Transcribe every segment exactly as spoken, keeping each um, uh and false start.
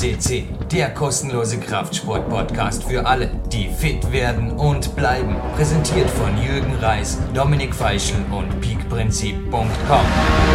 C C, der kostenlose Kraftsport-Podcast für alle, die fit werden und bleiben. Präsentiert von Jürgen Reis, Dominik Feischl und peakprinzip punkt com.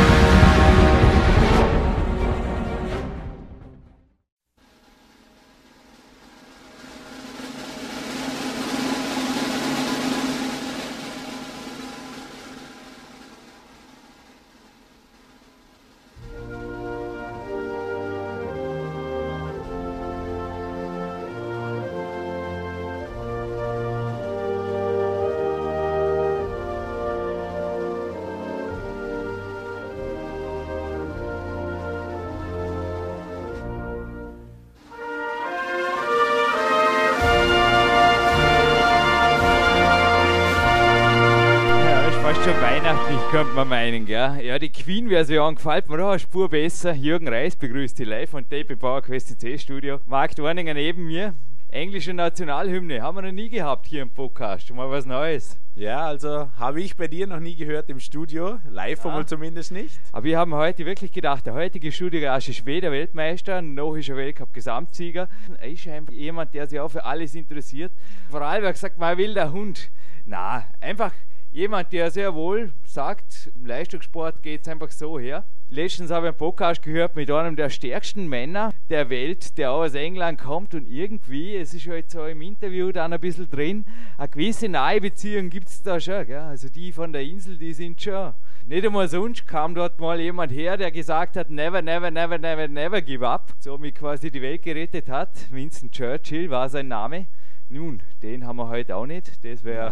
Könnte man meinen, gell? Ja, die Queen-Version gefällt mir da eine Spur besser. Jürgen Reis begrüßt die live von Tape Power Quest C C Studio. Marc Dorninger neben mir. Englische Nationalhymne haben wir noch nie gehabt hier im Podcast. Mal was Neues. Ja, also habe ich bei dir noch nie gehört im Studio. Live ja. Einmal zumindest nicht. Aber wir haben heute wirklich gedacht, der heutige Studiogast ist weder Weltmeister, noch ist er Weltcup-Gesamtsieger. Er ist einfach jemand, der sich auch für alles interessiert. Vor allem hat gesagt, man will der Hund. Na, einfach jemand, der sehr wohl sagt, im Leistungssport geht es einfach so her. Letztens habe ich einen Podcast gehört mit einem der stärksten Männer der Welt, der auch aus England kommt und irgendwie, es ist halt so im Interview dann ein bisschen drin, eine gewisse nahe Beziehung gibt es da schon. Gell? Also die von der Insel, die sind schon. Nicht einmal sonst kam dort mal jemand her, der gesagt hat, never, never, never, never, never give up. Somit quasi die Welt gerettet hat. Winston Churchill war sein Name. Nun, den haben wir heute auch nicht, das wäre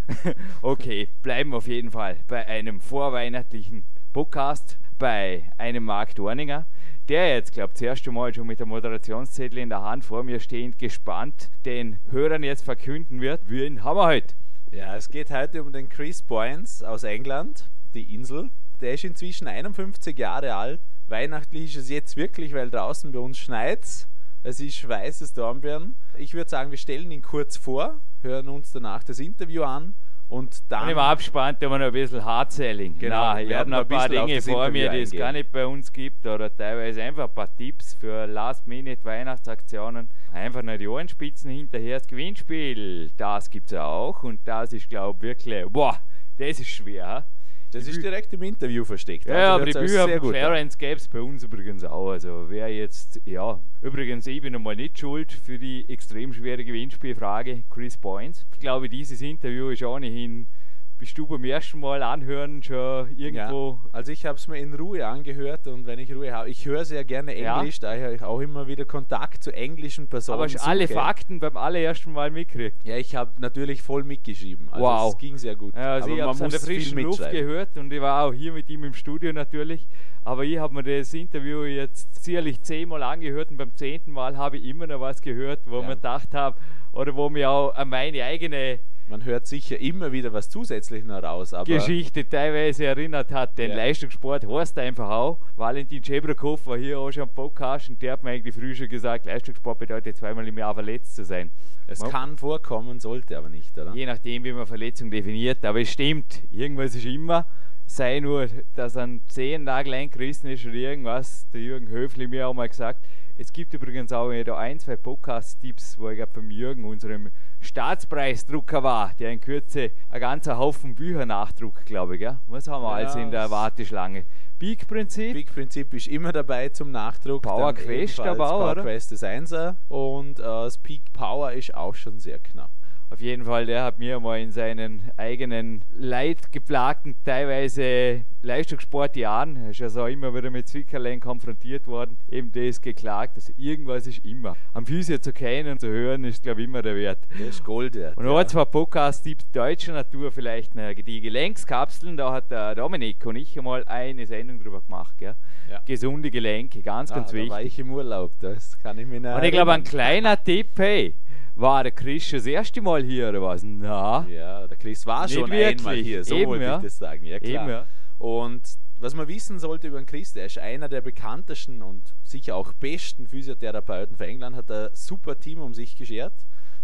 okay, bleiben wir auf jeden Fall bei einem vorweihnachtlichen Podcast, bei einem Marc Dorninger, der jetzt, glaube ich, das erste Mal schon mit der Moderationszettel in der Hand vor mir stehend gespannt den Hörern jetzt verkünden wird, wen haben wir heute? Ja, es geht heute um den Chris Boyens aus England, die Insel. Der ist inzwischen einundfünfzig Jahre alt, weihnachtlich ist es jetzt wirklich, weil draußen bei uns schneit's. Es ist weißes Dornbirn. Ich würde sagen, wir stellen ihn kurz vor, hören uns danach das Interview an und dann... Und im Abspann tun wir noch ein bisschen Hard-Selling. Genau, ich habe noch ein paar Dinge vor mir, die es gar nicht bei uns gibt oder teilweise einfach ein paar Tipps für Last-Minute-Weihnachtsaktionen. Einfach noch die Ohrenspitzen hinterher. Das Gewinnspiel, das gibt es auch und das ist, glaube ich, wirklich... Boah, das ist schwer. Das ist direkt im Interview versteckt. Ja, also aber die Bücher von Clarence gäbe es bei uns übrigens auch. Also wer jetzt, ja, übrigens, ich bin einmal nicht schuld für die extrem schwere Gewinnspielfrage Chris Boyens. Ich glaube, dieses Interview ist ohnehin, bist du beim ersten Mal anhören schon irgendwo... Ja, also ich habe es mir in Ruhe angehört und wenn ich Ruhe habe, ich höre sehr gerne Englisch, ja. Da ich auch immer wieder Kontakt zu englischen Personen Aber hast alle Fakten beim allerersten Mal mitgekriegt? Ja, ich habe natürlich voll mitgeschrieben, also wow. Es ging sehr gut. Ja, also aber ich habe es an der frischen Luft gehört und ich war auch hier mit ihm im Studio natürlich, aber ich habe mir das Interview jetzt sicherlich zehnmal angehört und beim zehnten Mal habe ich immer noch was gehört, wo ja. mir gedacht habe, oder wo mir auch an meine eigene... Man hört sicher immer wieder was zusätzlich noch raus. Aber Geschichte teilweise erinnert hat. Den ja. Leistungssport heißt einfach auch. Valentin Schebrakow war hier auch schon am Podcast und der hat mir eigentlich früher schon gesagt, Leistungssport bedeutet zweimal im Jahr verletzt zu sein. Es man kann vorkommen, sollte aber nicht, oder? Je nachdem, wie man Verletzung definiert. Aber es stimmt, irgendwas ist immer. Sei nur, dass ein Zehennagel eingerissen ist oder irgendwas. Der Jürgen Höfli mir auch mal gesagt. Es gibt übrigens auch da ein, zwei Podcast-Tipps, wo ich gerade beim Jürgen, unserem Staatspreisdrucker war, der in Kürze ein ganzer Haufen Bücher nachdruckt, glaube ich. Gell? Was haben wir ja, alles in der Warteschlange? Peak-Prinzip? Peak-Prinzip ist immer dabei zum Nachdruck. Power Quest aber auch, Power oder? Quest ist Einser und äh, das Peak Power ist auch schon sehr knapp. Auf jeden Fall, der hat mir mal in seinen eigenen leidgeplagten, teilweise Leistungssportjahren, er ist ja so immer wieder mit Zwickerlein konfrontiert worden, eben das geklagt, also irgendwas ist immer. Am Physio zu kennen und zu hören, ist glaube ich immer der Wert. Das ist Gold wert. Und noch ja. zwei Podcast-Tipps deutscher Natur, vielleicht eine, die Gelenkskapseln, da hat der Dominik und ich einmal eine Sendung drüber gemacht. Gell? Ja. Gesunde Gelenke, ganz, ah, ganz wichtig. Da war ich im Urlaub, das kann ich mir nicht Und ich glaube, ein kleiner Tipp, hey, war der Chris schon das erste Mal hier oder was? Na, ja, der Chris war nicht schon wirklich. einmal hier, so Eben, wollte ja. ich das sagen. Ja, klar. Eben, ja. Und was man wissen sollte über den Chris, der ist einer der bekanntesten und sicher auch besten Physiotherapeuten für England, hat ein super Team um sich geschert.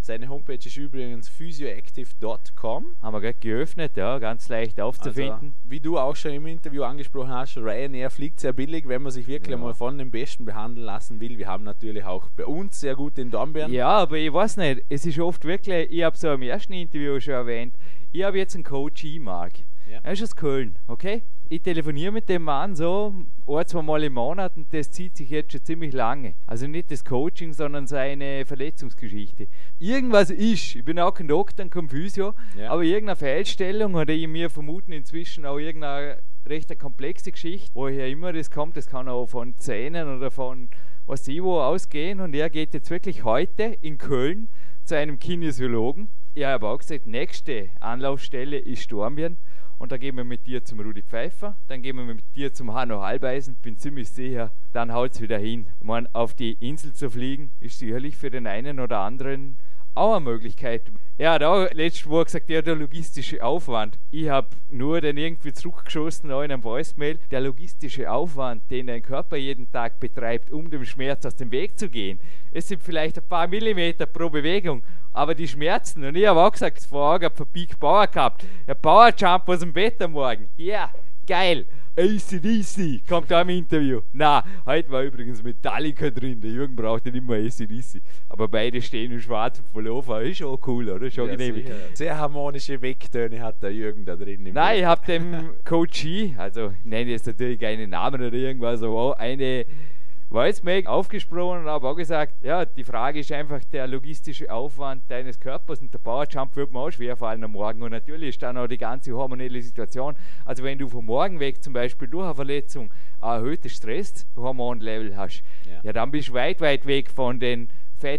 Seine Homepage ist übrigens physioactive Punkt com. Haben wir gerade geöffnet, ja, ganz leicht aufzufinden. Also, wie du auch schon im Interview angesprochen hast, Ryanair fliegt sehr billig, wenn man sich wirklich Ja. mal von den Besten behandeln lassen will. Wir haben natürlich auch bei uns sehr gut in Dornbirn. Ja, aber ich weiß nicht, es ist oft wirklich, ich habe so im ersten Interview schon erwähnt, ich habe jetzt einen Coach E-Mark. Ja. Er ist aus Köln, okay? Ich telefoniere mit dem Mann so ein, zwei Mal im Monat und das zieht sich jetzt schon ziemlich lange. Also nicht das Coaching, sondern seine Verletzungsgeschichte. Irgendwas ist, ich bin auch kein Doktor und kein Physio, Ja. aber irgendeine Fehlstellung oder ich mir vermuten inzwischen auch irgendeine recht komplexe Geschichte, woher immer das kommt, das kann auch von Zähnen oder von was ich wo ausgehen und er geht jetzt wirklich heute in Köln zu einem Kinesiologen. Ich habe auch gesagt, nächste Anlaufstelle ist Dornbirn. Und dann gehen wir mit dir zum Rudi Pfeiffer, dann gehen wir mit dir zum Hanno Halbeisen, bin ziemlich sicher, dann haut es wieder hin. Ich meine, auf die Insel zu fliegen, ist sicherlich für den einen oder anderen auch eine Möglichkeit. Er hat auch letztes Mal gesagt, ja, der logistische Aufwand. Ich habe nur den irgendwie zurückgeschossen auch in einem Voicemail. Der logistische Aufwand, den dein Körper jeden Tag betreibt, um dem Schmerz aus dem Weg zu gehen, es sind vielleicht ein paar Millimeter pro Bewegung, aber die Schmerzen, und ich habe auch gesagt, vor Augen von Peak Power gehabt, der Power Jump aus dem Bett am Morgen, ja, yeah, geil. A C D C kommt da im Interview. Na, heute war übrigens Metallica drin. Der Jürgen braucht nicht immer A C D C. Aber beide stehen in schwarzem Pullover. Ist schon cool, oder? Schon Ja, genehmigt. sicher. Sehr harmonische Wegtöne hat der Jürgen da drin. Im Nein, Bild. ich habe dem Coachie, also ich nenne jetzt natürlich keinen Namen oder irgendwas, aber auch eine Voicemail aufgesprochen und habe auch gesagt, ja, die Frage ist einfach der logistische Aufwand deines Körpers und der Powerjump wird mir auch schwer fallen am Morgen und natürlich ist dann auch die ganze hormonelle Situation. Also wenn du vom Morgen weg zum Beispiel durch eine Verletzung ein erhöhtes Stresshormonlevel hast, Ja. ja, dann bist du weit, weit weg von den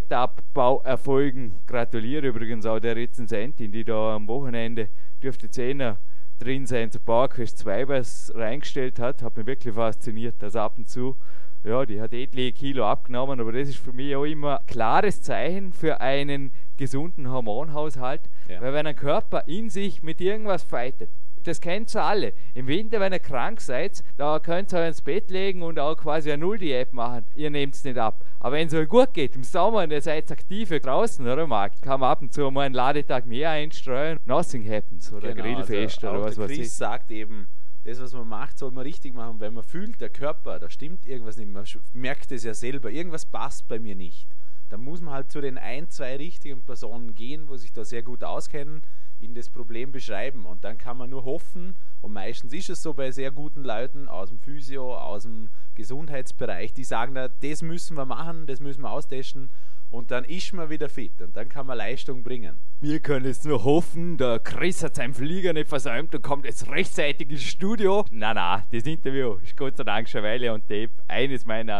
Fettabbauerfolgen. Gratuliere übrigens auch der Rezensentin, die da am Wochenende dürfte Zehner drin sein zu PowerQuest zwei was reingestellt hat, hat mich wirklich fasziniert, dass ab und zu, ja, die hat etliche Kilo abgenommen, aber das ist für mich auch immer ein klares Zeichen für einen gesunden Hormonhaushalt, Ja. weil wenn ein Körper in sich mit irgendwas fightet, das kennt ihr alle. Im Winter, wenn ihr krank seid, da könnt ihr euch ins Bett legen und auch quasi eine Null-Diät machen. Ihr nehmt es nicht ab. Aber wenn es euch gut geht, im Sommer und ihr seid aktiv draußen, oder Marc, kann man ab und zu mal einen Ladetag mehr einstreuen. Nothing happens. Oder Genau, Grillfest also oder auch was der weiß Chris ich. sagt eben, das, was man macht, soll man richtig machen. Wenn man fühlt, der Körper, da stimmt irgendwas nicht. Man sch- merkt es ja selber, irgendwas passt bei mir nicht. Dann muss man halt zu den ein, zwei richtigen Personen gehen, wo sich da sehr gut auskennen, ihnen das Problem beschreiben. Und dann kann man nur hoffen, und meistens ist es so bei sehr guten Leuten aus dem Physio, aus dem Gesundheitsbereich, die sagen, da, das müssen wir machen, das müssen wir austesten. Und dann ist man wieder fit und dann kann man Leistung bringen. Wir können jetzt nur hoffen, der Chris hat seinen Flieger nicht versäumt und kommt jetzt rechtzeitig ins Studio. Na na, das Interview ist Gott sei Dank schon Weile on Tape. Eines meiner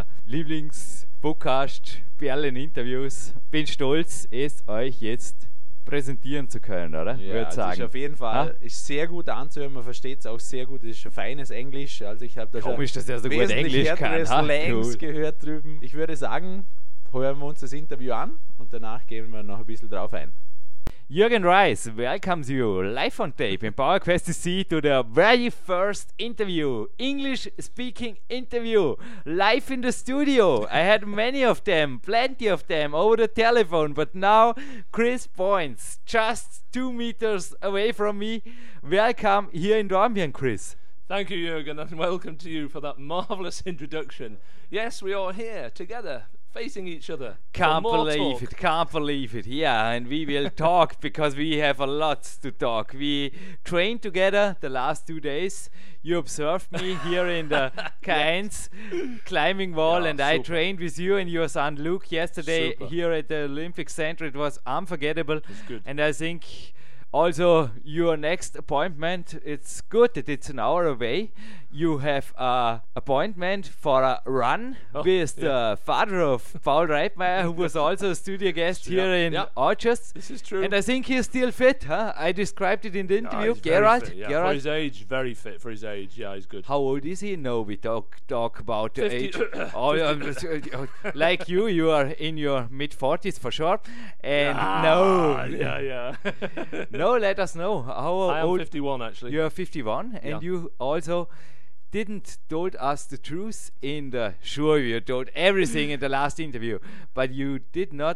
Lieblings-Podcast-Perlen-Interviews. Bin stolz, es euch jetzt präsentieren zu können, oder? Ja, Würde also sagen. ist auf jeden Fall Ha? ist sehr gut anzuhören, man versteht es auch sehr gut, es ist schon feines Englisch, also ich habe da schon Komisch, dass er so gut wesentlich Englisch kann. härtere Ha? Slangs Cool. gehört drüben. Ich würde sagen, hören wir uns das Interview an und danach gehen wir noch ein bisschen drauf ein. Jürgen Reis welcomes you live on tape in PowerQuest C C to the very first interview, English speaking interview, live in the studio. I had many of them, plenty of them over the telephone, but now Chris Points, just two meters away from me. Welcome here in Dornbirn, Chris. Thank you, Jürgen, and welcome to you for that marvellous introduction. Yes, we are here together, facing each other. for Can't more believe talk. it, can't believe it. Yeah, and we will talk because we have a lot to talk. We trained together the last two days. You observed me here in the K one climbing wall, Yeah, and I super. trained with you and your son Luke yesterday Super. here at the Olympic Center. It was unforgettable. good. And I think also your next appointment, it's good that it's an hour away. You have an appointment for a run Oh, with yeah. the father of Paul Reitmeier, who was also a studio guest Yeah, here in yeah. Orchards. This is true. And I think he's still fit, huh? I described it in the Ah, interview. he's very Gerard, fit, yeah. For Gerard, his age, very fit for his age. Yeah, he's good. how old is he? No, we talk talk about the fifty age. Oh, yeah, like you, you are in your mid forties for sure. And Ah, no, yeah, yeah. no, let us know how I am old fifty-one actually. you're fifty-one, and Yeah. you also didn't told us the truth in the sure you told everything in the last interview, but you did not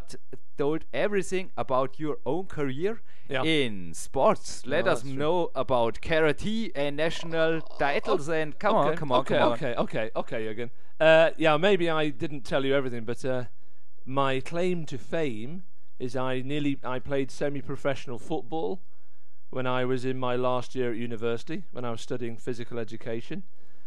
told everything about your own career Yeah. in sports. Let No, us that's true. know about karate and national titles and come okay, on, come on, okay, come on. okay, okay, okay, Jürgen. Uh, yeah, maybe I didn't tell you everything, but uh, my claim to fame is I nearly I played semi-professional football when I was in my last year at university, when I was studying physical education.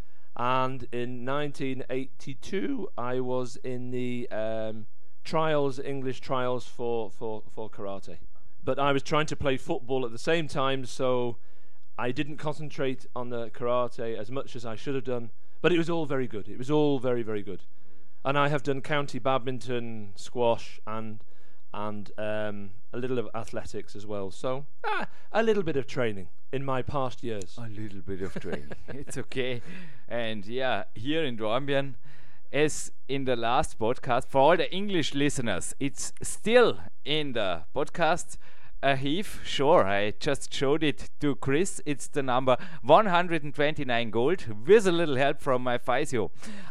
And in nineteen eighty-two, I was in the um, trials, English trials for, for, for karate. But I was trying to play football at the same time, so I didn't concentrate on the karate as much as I should have done. But it was all very good. It was all very, very good. And I have done county badminton, squash, and and um, a little of athletics as well. So ah, a little bit of training in my past years. A little bit of training. It's okay. And yeah, here in Dornbirn, as in the last podcast, for all the English listeners, it's still in the podcast archive. Sure, I just showed it to Chris. It's the number one hundred twenty-nine gold with a little help from my physio.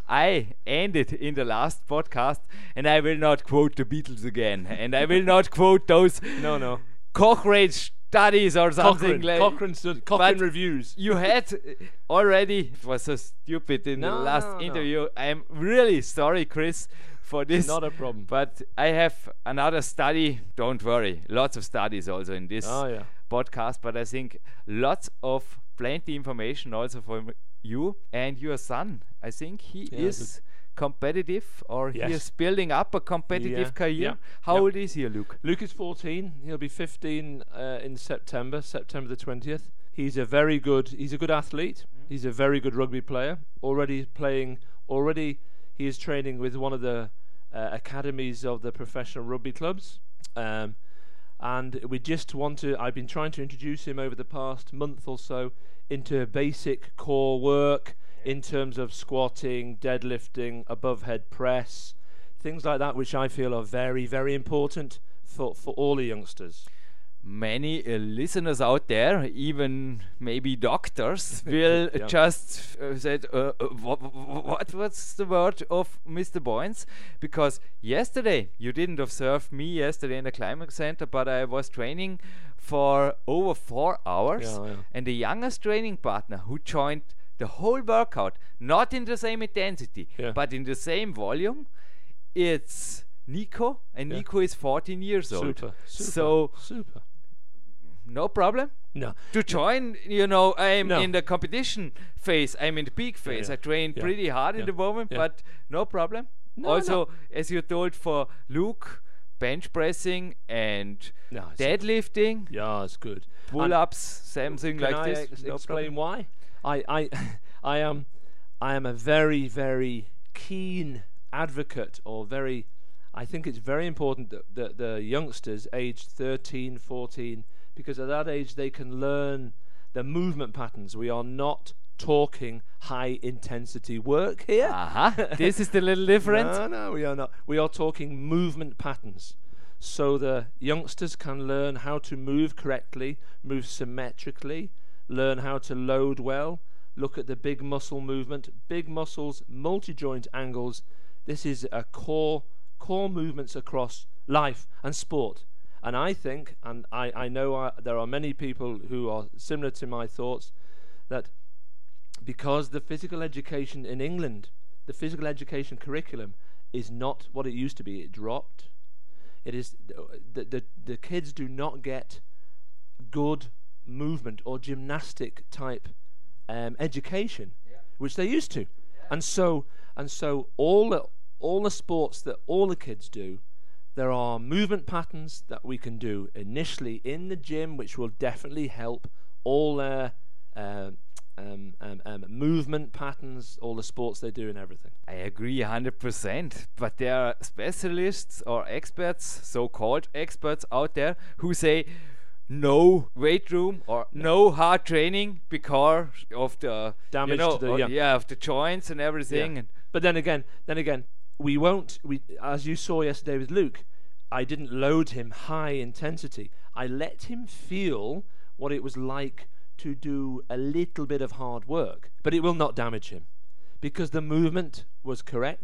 I ended in the last podcast, and I will not quote the Beatles again, and I will not quote those No, no. Cochrane studies or something Cochrane, like. Cochrane, stud- Cochrane But reviews. You had already, it was so stupid in No, the last no, no. interview. I'm really sorry, Chris, for this. Not a problem. But I have another study. Don't worry, lots of studies also in this Oh, yeah. podcast. But I think lots of plenty information also from you and your son. I think he Yeah, is competitive, or he Yes. is building up a competitive Yeah, career. yeah, How yeah. old is he, Luke? Luke is fourteen. He'll be fifteen uh, in September, September the twentieth. He's a very good. He's a good athlete. He's a very good rugby player. Already playing. Already, he is training with one of the uh, academies of the professional rugby clubs. Um, and we just want to. I've been trying to introduce him over the past month or so into basic core work in terms of squatting, deadlifting, above head press, things like that, which I feel are very, very important for, for all the youngsters. Many uh, listeners out there, even maybe doctors, will Yeah. just uh, said, uh, uh, what, what what's the word of Mister Boyens? Because yesterday, you didn't observe me yesterday in the Climax Center, but I was training for over four hours. Yeah, yeah. And the youngest training partner who joined the whole workout, not in the same intensity, Yeah. but in the same volume, it's Nico, and Yeah. Nico is fourteen years old. Super, super, So super. no problem No, to join. You know, I'm No. in the competition phase. I'm in the peak phase. yeah, I train yeah, pretty hard in yeah, the moment, yeah. but no problem. No, also, no. as you told for Luke, bench pressing and no it's deadlifting, yeah, it's good. pull-ups, something Can like I this. ex- no explain problem. why? I, I, I am, I am a very, very keen advocate, or very, I think it's very important that, that the youngsters aged thirteen, fourteen, because at that age they can learn the movement patterns. We are not talking high intensity work here. Aha, this is the little difference. No, no, we are not. We are talking movement patterns. So the youngsters can learn how to move correctly, move symmetrically, learn how to load well, look at the big muscle movement, big muscles, multi-joint angles. This is a core, core movements across life and sport. And I think, and I, I know I, there are many people who are similar to my thoughts, that because the physical education in England, the physical education curriculum is not what it used to be. It dropped. It is the the, the kids do not get good movement or gymnastic type um, education, which they used to, and so and so all the all the sports that all the kids do, there are movement patterns that we can do initially in the gym, which will definitely help all their uh, um, um, um, movement patterns, all the sports they do and everything. I agree one hundred percent, but there are specialists or experts, so-called experts out there, who say no weight room or no hard training because of the Damage you know, to the- or- yeah. yeah, of the joints and everything. Yeah. And But then again, then again, we won't. We, as you saw yesterday with Luke, I didn't load him high intensity. I let him feel what it was like to do a little bit of hard work, but it will not damage him because the movement was correct.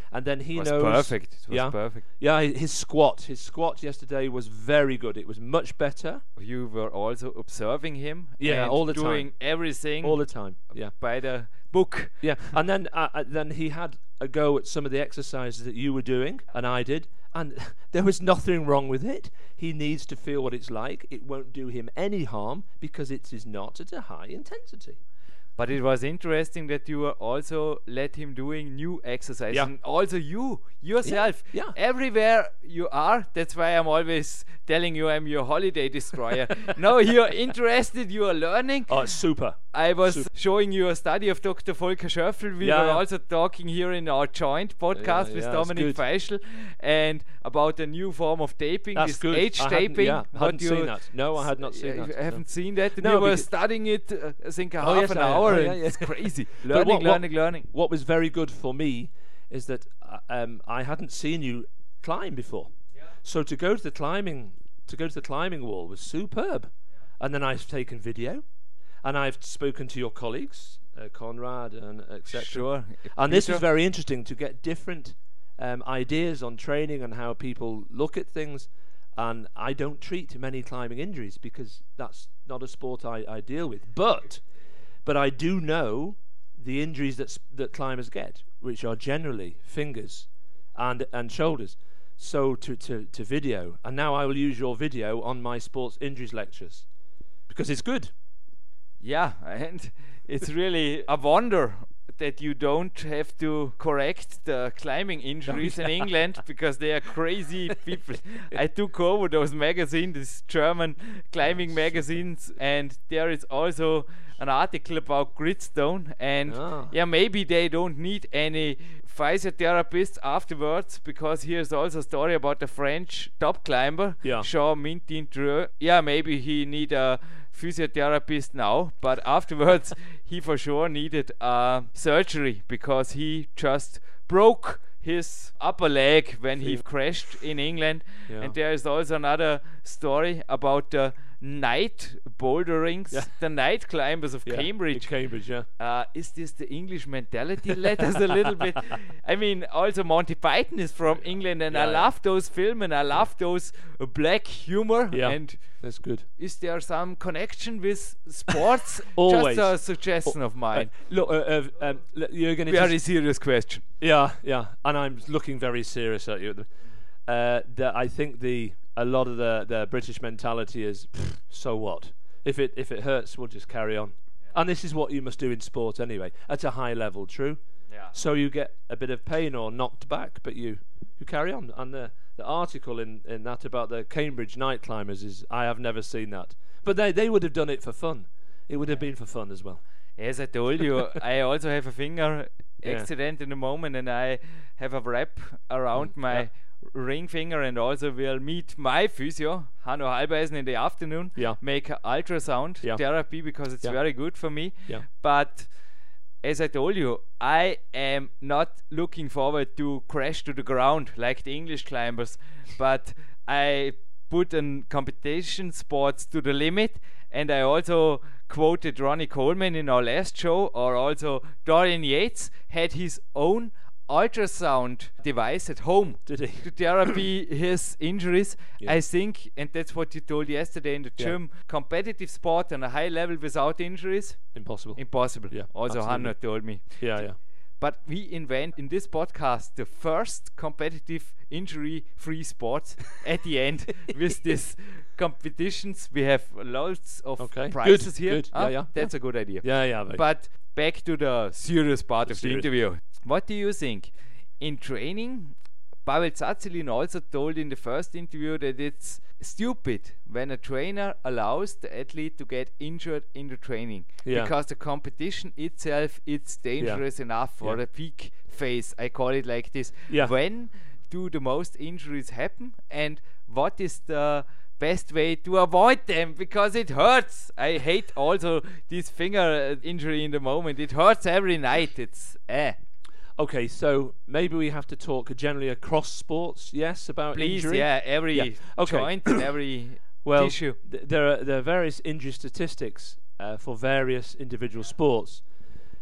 and then he It was knows. perfect. It was yeah, perfect. yeah. hi- His squat, his squat yesterday was very good. It was much better. You were also observing him. Yeah, and all the doing time. everything All the time. Yeah, by the book. yeah. And then, uh, uh, then he had a go at some of the exercises that you were doing, and I did, and there was nothing wrong with it. He needs to feel what it's like. It won't do him any harm because it is not at a high intensity. But it was interesting that you were also let him doing new exercises. Yeah. And also you, yourself, Yeah, yeah. everywhere you are. That's why I'm always telling you I'm your holiday destroyer. No, you're interested, you are learning. Oh, it's super. I was Super. showing you a study of Doctor Volker Schöffel. We Yeah, were yeah. also talking here in our joint podcast Yeah, with yeah, it's Dominic good. Feischl and about a new form of taping, That's this good. age I hadn't- taping. yeah, I what hadn't you seen that. No, I had not s- seen uh, that, You no. haven't seen that? And No, we were because- studying it, uh, I think, a Oh, half yes, an I- hour. oh, yeah, and yeah. It's crazy. But learning, what- what- learning, learning. What was very good for me is that uh, um, I hadn't seen you climb before. So to go to the climbing to go to the climbing wall was superb. And then I've taken video, and I've spoken to your colleagues, uh, Conrad and et cetera. Sure. And this Peter? was very interesting to get different um, ideas on training and how people look at things. And I don't treat many climbing injuries because that's not a sport I, I deal with. But but I do know the injuries that s- that climbers get, which are generally fingers and and shoulders. So to, to, to video, and now I will use your video on my sports injuries lectures because it's good. Yeah, and it's really a wonder that you don't have to correct the climbing injuries in England because they are crazy people. I took over those magazines, these German climbing magazines, and there is also an article about Gridstone, and Ah. yeah, maybe they don't need any physiotherapists afterwards because here's also a story about a French top climber, Yeah. Jean Mintin-Dreux. Yeah, maybe he need a physiotherapist now, but afterwards he for sure needed a surgery because he just broke his upper leg when he Yeah. crashed in England. Yeah. And there is also another story about the night boulderings, Yeah. the night climbers of Yeah, Cambridge. in Cambridge, yeah. Uh, is this the English mentality? Let us a little bit. I mean, also Monty Python is from England, and I Yeah, yeah. love those films and I love those uh, black humor. Yeah. And That's good. is there some connection with sports? Always. Just a suggestion of mine. Uh, look, uh, uh, um, l- you're going to Very serious question. Yeah, yeah, and I'm looking very serious at you. Uh, the, I think the a lot of the, the British mentality is, "Pfft, so what? If it if it hurts, we'll just carry on. And this is what you must do in sport anyway, at a high level. True. Yeah. So you get a bit of pain or knocked back, but you you carry on. And the the article in, in that about the Cambridge night climbers is I have never seen that, but they they would have done it for fun. It would have been for fun as well. As I told you, I also have a finger Yeah. accident in the moment, and I have a wrap around my yeah. ring finger, and also will meet my physio, Hanno Halbeisen, in the afternoon. Yeah. Make a ultrasound Yeah. therapy because it's Yeah. very good for me. Yeah. But as I told you, I am not looking forward to crash to the ground like the English climbers, but I put in competition sports to the limit, and I also quoted Ronnie Coleman in our last show, or also Dorian Yates had his own ultrasound device at home Did he? to therapy his injuries. Yeah. I think, and that's what you told yesterday in the Yeah. gym, competitive sport on a high level without injuries, Impossible. impossible. Yeah, Also absolutely. Hanno told me. Yeah, yeah. But we invent in this podcast the first competitive injury-free sport at the end with these competitions. We have loads of Okay, prizes good, here. good. Ah, Yeah, yeah, That's a good idea. Yeah, yeah. But But back to the serious part of serious. the interview. What do you think? In training, Pavel Tsatsouline also told in the first interview that it's stupid when a trainer allows the athlete to get injured in the training Yeah. because the competition itself it's dangerous enough for Yeah. the peak phase. I call it like this. Yeah. When do the most injuries happen, and what is the best way to avoid them, because it hurts. I hate also this finger uh, injury in the moment. It hurts every night. It's eh. okay, so maybe we have to talk generally across sports. Yes, about Please, injury. yeah, every Yeah, okay. joint and every Well, tissue. th- there are there are various injury statistics uh, for various individual sports.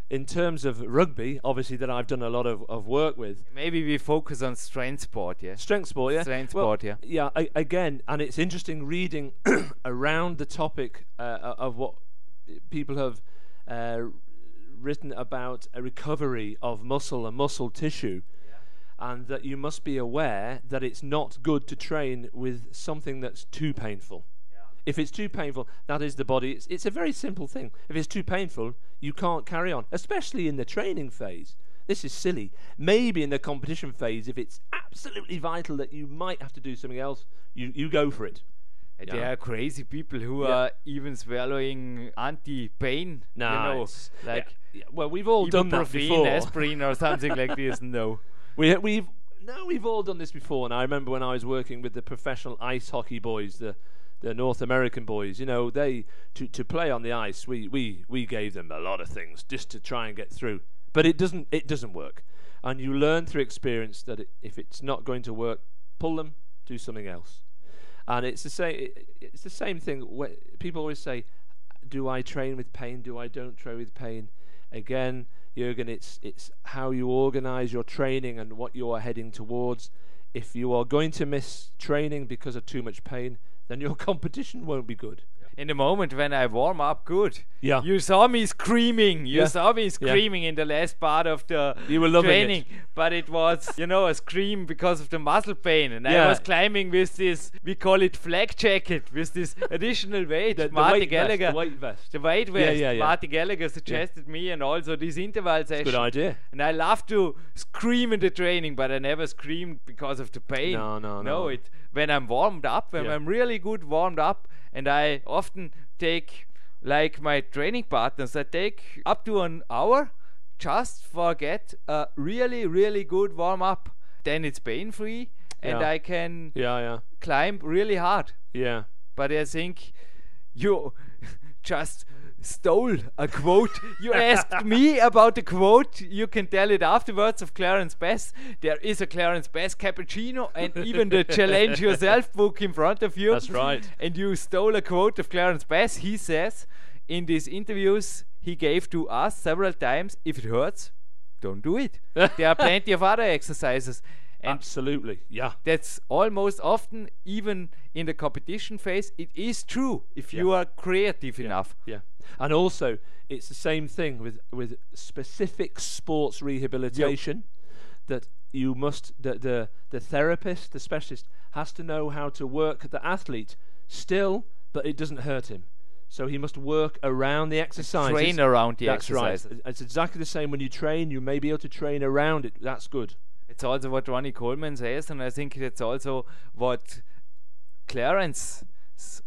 in terms of rugby, obviously that I've done a lot of, of work with. Maybe we focus on strength sport, yeah? Strength sport, yeah. Strength Well, sport, yeah. Yeah, I, again, and it's interesting reading around the topic uh, of what people have uh, written about a recovery of muscle and muscle tissue, yeah. and that you must be aware that it's not good to train with something that's too painful. If it's too painful, that is the body. It's, it's a very simple thing. If it's too painful, you can't carry on, especially in the training phase. This is silly. Maybe in the competition phase, if it's absolutely vital that you might have to do something else, you, you go for it. And Yeah. there are crazy people who Yeah. are even swallowing anti-pain, Nah, you know, it's- like yeah, well, we've all done that ibuprofen, before. aspirin, or something like this. No. We, we've no, we've all done this before. And I remember when I was working with the professional ice hockey boys, the the North American boys. You know, they to to play on the ice. We we we gave them a lot of things just to try and get through. But it doesn't it doesn't work. And you learn through experience that it, if it's not going to work, pull them, do something else. And it's the same. It, it's the same thing. Where people always say, "Do I train with pain? Do I don't train with pain?" Again, Jürgen, it's it's how you organise your training and what you are heading towards. If you are going to miss training because of too much pain, then your competition won't be good. In the moment when I warm up good, Yeah. you saw me screaming. You Yeah. saw me Yeah. screaming in the last part of the You were loving training. it. But it was, you know, a scream because of the muscle pain. And I Yeah. was climbing with this, we call it flag jacket, with this additional weight. The, the Marty weight Gallagher. vest. The weight vest. The weight Yeah, vest. yeah, yeah. Marty Gallagher suggested me, and also this interval session. Good idea. And I love to scream in the training, but I never scream because of the pain. No, no, No, no. it when I'm warmed up, when Yeah. I'm really good warmed up, and I often take, like my training partners, I take up to an hour just for get a really, really good warm up. Then it's pain free, and Yeah. I can Yeah, yeah, climb really hard. yeah. But I think you just stole a quote. You asked me about the quote. You can tell it afterwards of Clarence Bass. There is a Clarence Bass cappuccino and even the Challenge Yourself book in front of you. That's right. And you stole a quote of Clarence Bass. He says in these interviews he gave to us several times, if it hurts, don't do it. There are plenty of other exercises. And Absolutely. Yeah. that's almost often, even in the competition phase, it is true if you are creative enough. Yeah. And also, it's the same thing with, with specific sports rehabilitation, that you must, the, the, the therapist, the specialist, has to know how to work the athlete still, but it doesn't hurt him. So he must work around the exercises. Train around the That's exercises. right. It's exactly the same when you train. You may be able to train around it. That's good. It's also what Ronnie Coleman says, and I think that's also what Clarence, s-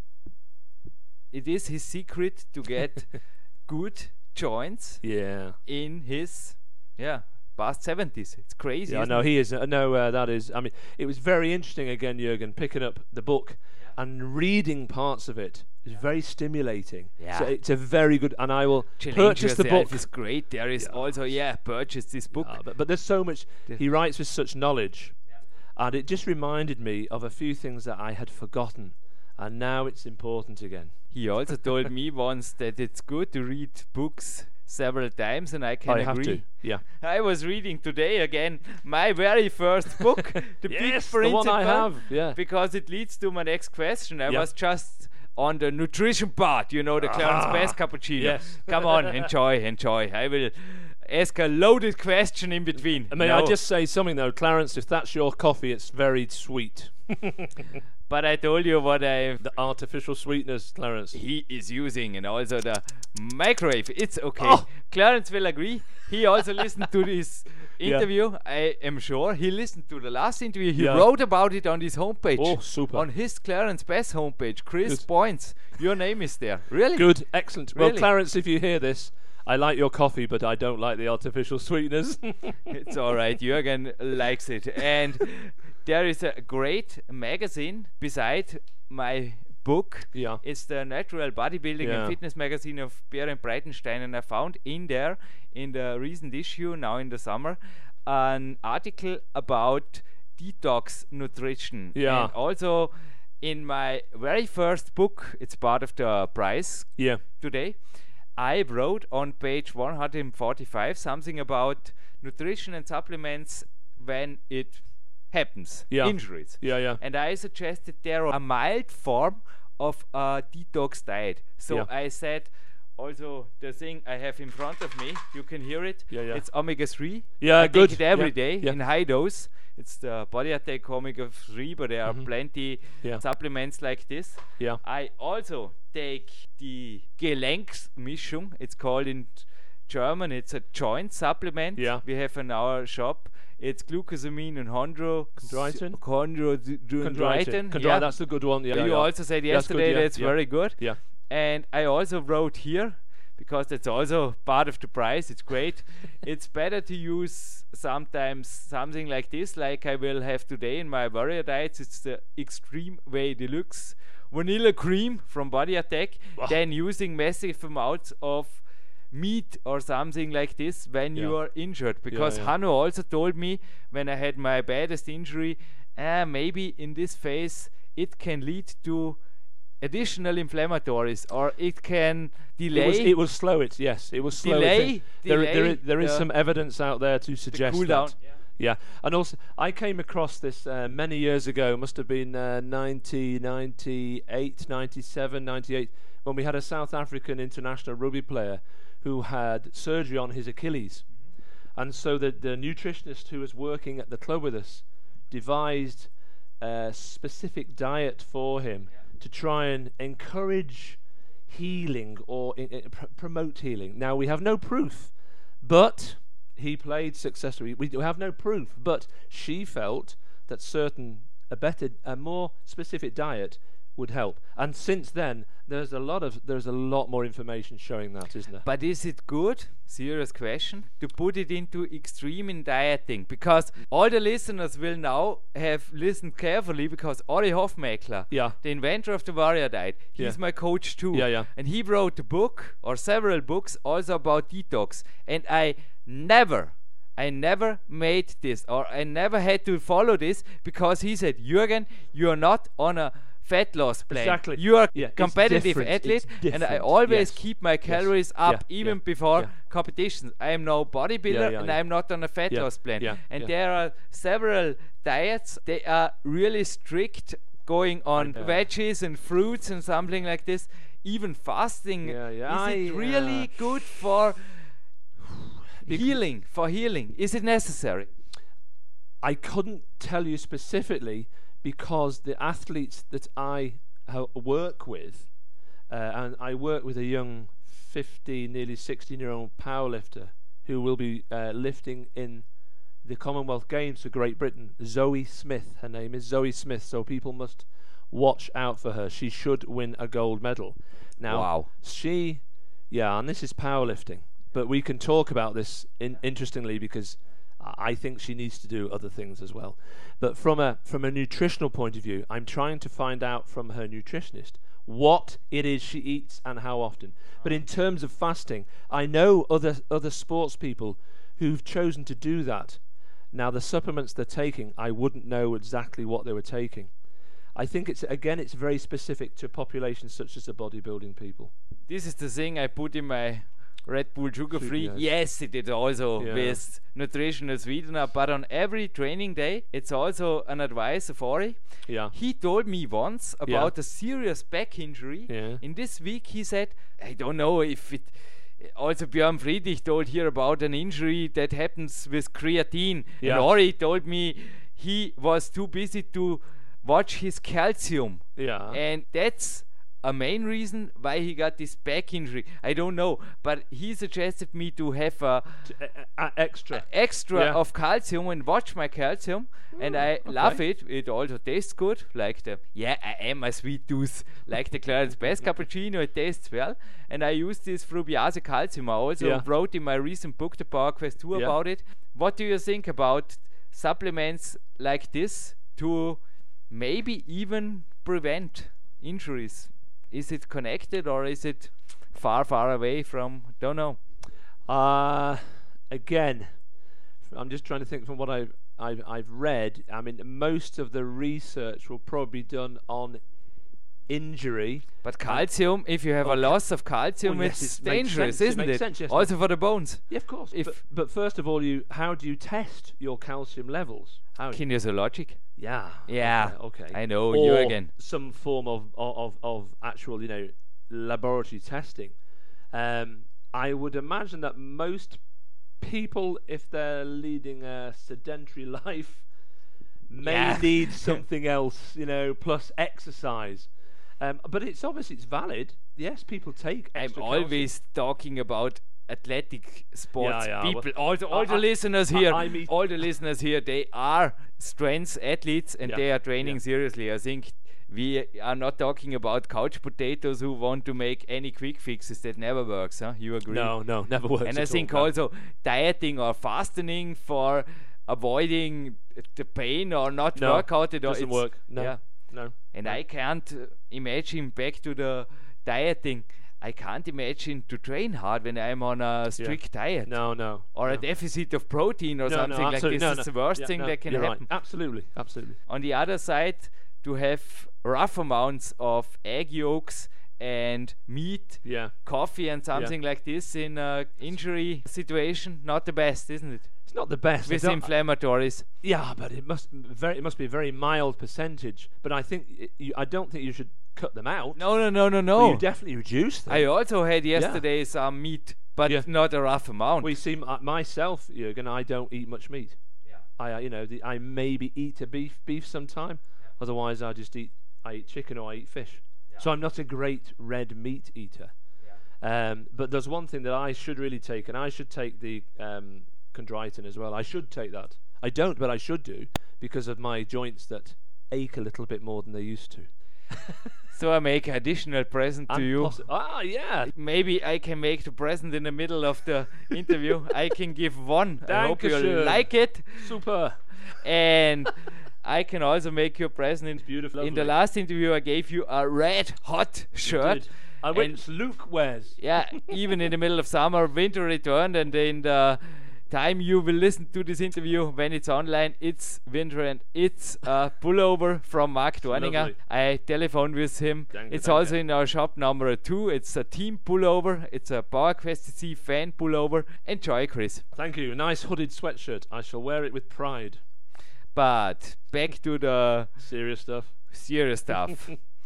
it is his secret to get good joints Yeah. in his, yeah, past seventies. It's crazy. Yeah, I isn't know it? he is. I know uh, that is. I mean, it was very interesting again, Jürgen, picking up the book and reading parts of it. It's very stimulating. Yeah. So it's a very good, and I will Challenge purchase the Yourself book. is great. There is Yeah. also, yeah, purchase this book. Uh, but, but there's so much. The- He writes with such knowledge, and it just reminded me of a few things that I had forgotten, and now it's important again. He also told me once that it's good to read books several times, and I can I agree. have to. Yeah. I was reading today again my very first book, The Yes, Big the one I Principle, have. Yeah. because it leads to my next question. I Yeah. was just on the nutrition part, you know, the Clarence Ah, Bass cappuccino. yes. Come on, enjoy, enjoy. I will ask a loaded question in between. May No, I just say something though, Clarence? If that's your coffee, it's very sweet. But I told you what I The artificial sweetness, Clarence. he is using, and also the microwave. It's okay. Oh. Clarence will agree. He also listened to this Yeah. interview. I am sure he listened to the last interview. He Yeah. wrote about it on his homepage. Oh, super. On his Clarence Bass homepage. Chris Good. Points. Your name is there. Really? Good, excellent. Well, Really? Clarence, if you hear this, I like your coffee, but I don't like the artificial sweetness. It's all right. Jürgen likes it. And there is a great magazine beside my book. Yeah. It's the Natural Bodybuilding Yeah. and Fitness magazine of Berend Breitenstein, and I found in there, in the recent issue now in the summer, an article about detox nutrition. Yeah. And also in my very first book, it's part of the prize Yeah. today, I wrote on page one hundred forty-five something about nutrition and supplements when it happens, Yeah. injuries. Yeah, yeah. And I suggested there a mild form of a detox diet. So Yeah. I said, also the thing I have in front of me, you can hear it. Yeah, yeah. It's omega three. Yeah, I good. take it every Yeah, day yeah. in high dose. It's the Body Attack omega three, but there are plenty Yeah. supplements like this. Yeah. I also take the Gelenksmischung. It's called in German. It's a joint supplement. Yeah. We have in our shop. It's glucosamine and chondro. Chondroitin? Chondroitin. Chondroitin. Yeah. That's the good one. Yeah, you yeah. also said That's good, yesterday yeah, that's yeah. very good. Yeah. And I also wrote here, because that's also part of the price, it's great. It's better to use sometimes something like this, like I will have today in my warrior diets. It's the Extreme Way Deluxe Vanilla Cream from Body Attack, Wow. than using massive amounts of meat or something like this when Yeah. you are injured. Because yeah. Hanno also told me when I had my baddest injury, uh, maybe in this phase it can lead to additional inflammatories, or it can delay It, was, it will slow it, yes. It will slow Delay- it. There, there, delay is, there is the- some evidence out there to the suggest cool down. that. Yeah, and also I came across this uh, many years ago, must have been uh, nineteen ninety-eight, ninety-seven, ninety-eight, when we had a South African international rugby player who had surgery on his Achilles. And so the, the nutritionist who was working at the club with us devised a specific diet for him to try and encourage healing or i- i- pr- promote healing. Now, we have no proof, but he played successfully. We do have no proof, but she felt that certain, a better, a more specific diet would help. And since then, there's a lot of, there's a lot more information showing that, isn't there? But is it good, serious question, to put it into extreme in dieting? Because all the listeners will now have listened carefully, because Ori Hofmeckler, Yeah. the inventor of the warrior diet, he's Yeah. my coach too. Yeah, yeah. And he wrote a book, or several books, also about detox. And I never, I never made this, or I never had to follow this, because he said, Jürgen, you're not on a fat loss plan. Exactly. You are Yeah, it's competitive different, athlete, it's and I different, always yes. keep my Yes. calories up Yeah, even yeah, before yeah. competitions. I am no bodybuilder, Yeah, yeah, and yeah. I'm not on a fat Yeah, loss plan. yeah, and yeah. there are several diets. They are really strict, going on Yeah. veggies and fruits and something like this. Even fasting. Yeah, yeah. Is I, it really uh, good for Bec- healing? For healing, is it necessary? I couldn't tell you specifically, because the athletes that I ha- work with, uh, and I work with a young fifteen, nearly sixteen-year-old powerlifter who will be uh, lifting in the Commonwealth Games for Great Britain. Zoe Smith, her name is Zoe Smith, so people must watch out for her. She should win a gold medal. Now, Wow. she, yeah, and this is powerlifting, but we can talk about this in, interestingly, because I think she needs to do other things as well. But from a from a nutritional point of view, I'm trying to find out from her nutritionist what it is she eats and how often. But in terms of fasting, I know other other sports people who've chosen to do that. Now, the supplements they're taking, I wouldn't know exactly what they were taking. I think it's again it's very specific to populations such as the bodybuilding people. This is the thing I put in my Red Bull Sugar Free. Yes. Yes, it is also Yeah. with nutritional sweetener, but on every training day, it's also an advice of Ori. Yeah. He told me once Yeah. about a serious back injury. Yeah. In this week, he said, I don't know if it. Also, Björn Friedrich told here about an injury that happens with creatine. Yeah. And Ori told me he was too busy to watch his calcium. Yeah. And that's a main reason why he got this back injury. I don't know, but he suggested me to have a T- uh, uh, extra. extra Yeah. of calcium and watch my calcium, and I love it. It also tastes good, like the yeah, I am a sweet tooth, like the Clarence Best cappuccino. It tastes well, and I use this Frubiase calcium. I also Yeah. wrote in my recent book, The Power Quest two, Yeah. about it. What do you think about supplements like this to maybe even prevent injuries? Is it connected, or is it far, far away from? Don't know. Uh, again, I'm just trying to think from what I've, I've, I've read. I mean, most of the research will probably be done on injury. But calcium, if you have a Okay. loss of calcium, Well, yes, it's it makes dangerous, sense, it isn't makes it? sense, yes, Also for the bones. Yeah, of course. If- but, but first of all, you how do you test your calcium levels? How? Kinesiologic. Yeah. Yeah, Okay. okay. I know, Or Jürgen. some form of, of of of actual, you know, laboratory testing. Um, I would imagine that most people, if they're leading a sedentary life, may Yeah. need something else, you know, plus exercise. Um, but it's obviously it's valid. Yes, people take I'm extra calcium. always talking about athletic sports Yeah, yeah, people. well, all the, all I- the I- listeners I- here, I meet- all the listeners here, they are strength athletes and Yeah, they are training yeah. seriously. I think we are not talking about couch potatoes who want to make any quick fixes. That never works, huh? You agree? No, no, never works. And I at think all, no. also dieting or fasting for avoiding the pain or not No, work out at all. doesn't it's- work. No, Yeah. no. And no. I can't uh, imagine back to the dieting. I can't imagine to train hard when I'm on a strict diet No, no. or no. a deficit of protein or No, no, something like absolutely. this. No, It's no. the worst Yeah, thing no, that can you're right. happen. Absolutely, absolutely. On the other side, to have rough amounts of egg yolks and meat, Yeah. coffee and something like this in a injury situation, not the best, isn't it? It's not the best. I With don't- inflammatories. Yeah, but it must very it must be a very mild percentage. But I think y- you, I don't think you should cut them out. No, no, no, no, Well, no. you definitely reduce them. I also had yesterday some meat, but Yeah. not a rough amount. We see m- myself, Jürgen. I don't eat much meat. Yeah. I, uh, you know, the, I maybe eat a beef beef sometime. Otherwise, I just eat I eat chicken or I eat fish. So I'm not a great red meat eater. Um, but there's one thing that I should really take, and I should take the um, chondroitin as well. I should take that. I don't, but I should do because of my joints that ache a little bit more than they used to. So I make an additional present to And you. possi- ah, yeah. Maybe I can make the present in the middle of the interview. I can give one. I hope you Dankeschön. like it. Super. And I can also make you a present. In, beautiful. in the Lovely. last interview, I gave you a red hot shirt. Did. I And- went Luke wears. Yeah, even in the middle of summer, winter returned, and in the time you will listen to this interview when it's online, it's winter and it's a pullover from Mark Dorninger. Lovely. I telephoned with him. Danke, it's danke. also in our shop number two. It's a team pullover. It's a PowerQuest C fan pullover. Enjoy, Chris. Thank you. Nice hooded sweatshirt. I shall wear it with pride. But back to the Serious stuff. serious stuff.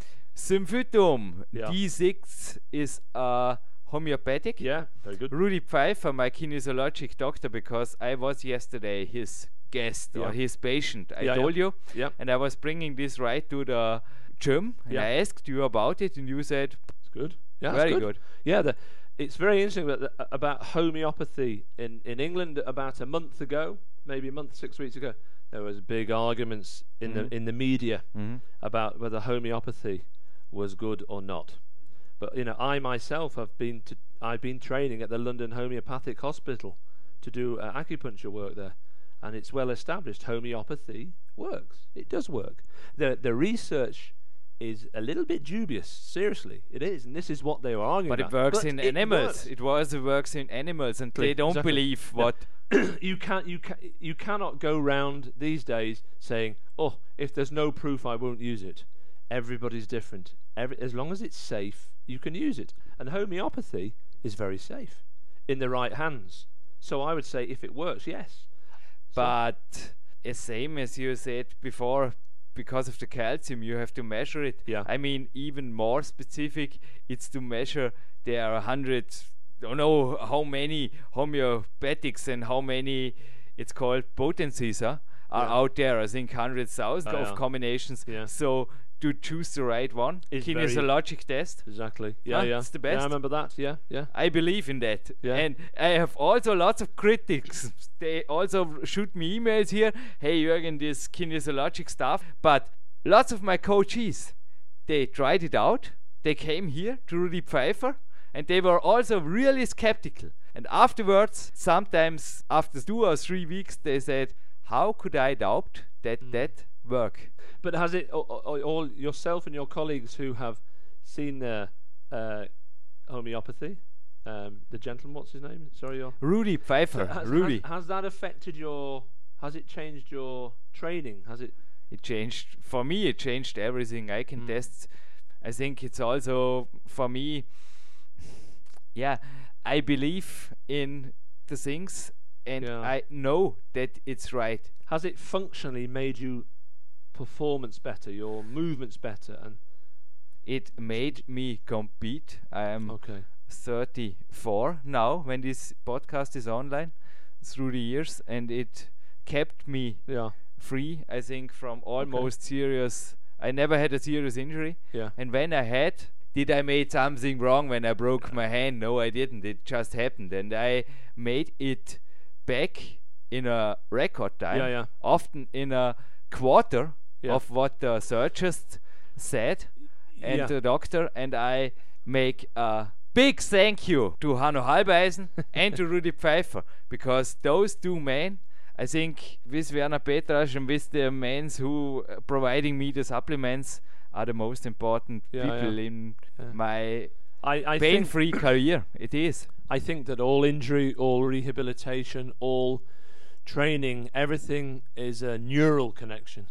Symphytum Yeah. D six is a homeopathic. Yeah, very good. Rudy Pfeiffer, my kinesiologic doctor, because I was yesterday his guest Yeah. or his patient. I Yeah, yeah. told you. Yeah. And I was bringing this right to the gym. And Yeah. I asked you about it, and you said, It's good. Yeah, very that's good. Yeah, the, it's very interesting about, the, about homeopathy in, in England. About a month ago, maybe a month, six weeks ago, there was big arguments in Mhm. the in the media Mhm. about whether homeopathy was good or not. But you know, I myself have been to I've been training at the London Homeopathic Hospital to do uh, acupuncture work there, and it's well established homeopathy works. It does work. The the research is a little bit dubious. Seriously, it is, and this is what they were arguing but it about. works But in it animals. works. It also works in animals, and they don't Exactly. believe Yeah. what. you can't you can you cannot go round these days saying, "Oh, if there's no proof, I won't use it." Everybody's different. Every, as long as it's safe, you can use it. And homeopathy is very safe in the right hands. So I would say, if it works, yes. So- But as same as you said before, because of the calcium, you have to measure it. Yeah. I mean, even more specific, it's to measure. There are hundreds, don't know how many homeopathics and how many it's called potencies huh, are Yeah. out there. I think hundreds thousand Oh, of yeah. combinations. Yeah. So to choose the right one, Is very- kinesiologic test. exactly. Yeah, Huh? yeah. It's the Yeah, best. I remember that. Yeah, yeah. I believe in that. Yeah. And I have also lots of critics. They also shoot me emails here. Hey, Jürgen, this kinesiologic stuff. But lots of my coaches, they tried it out. They came here to Rudy Pfeiffer and they were also really skeptical. And afterwards, sometimes after two or three weeks, they said, how could I doubt that Mm. that work? But has it all, all, all yourself and your colleagues who have seen the uh, homeopathy? Um, the gentleman, what's his name? Sorry, your Rudy Pfeiffer, has, Rudy. Has, has that affected your? Has it changed your training? Has it? It changed for me. It changed everything. I can Mm. test. I think it's also for me, yeah, I believe in the things and Yeah. I know that it's right. Has it functionally made you performance better, your movements better? And It made me compete. I am okay, thirty-four now when this podcast is online through the years, and it kept me yeah, free, I think, from almost serious. I never had a serious injury, yeah, and when I had, did I made something wrong when I broke my hand? No, I didn't. It just happened, and I made it back in a record time. Yeah, yeah. Often in a quarter Yeah. of what the surgeons said and Yeah. the doctor, and I make a big thank you to Hanno Halbeisen and to Rudi Pfeiffer, because those two men, I think, with Werner Petrasch and with the men who uh, providing me the supplements, are the most important Yeah, people yeah. in Yeah. my I, I think pain-free career. It is. I think that all injury, all rehabilitation, all training, everything is a neural connection.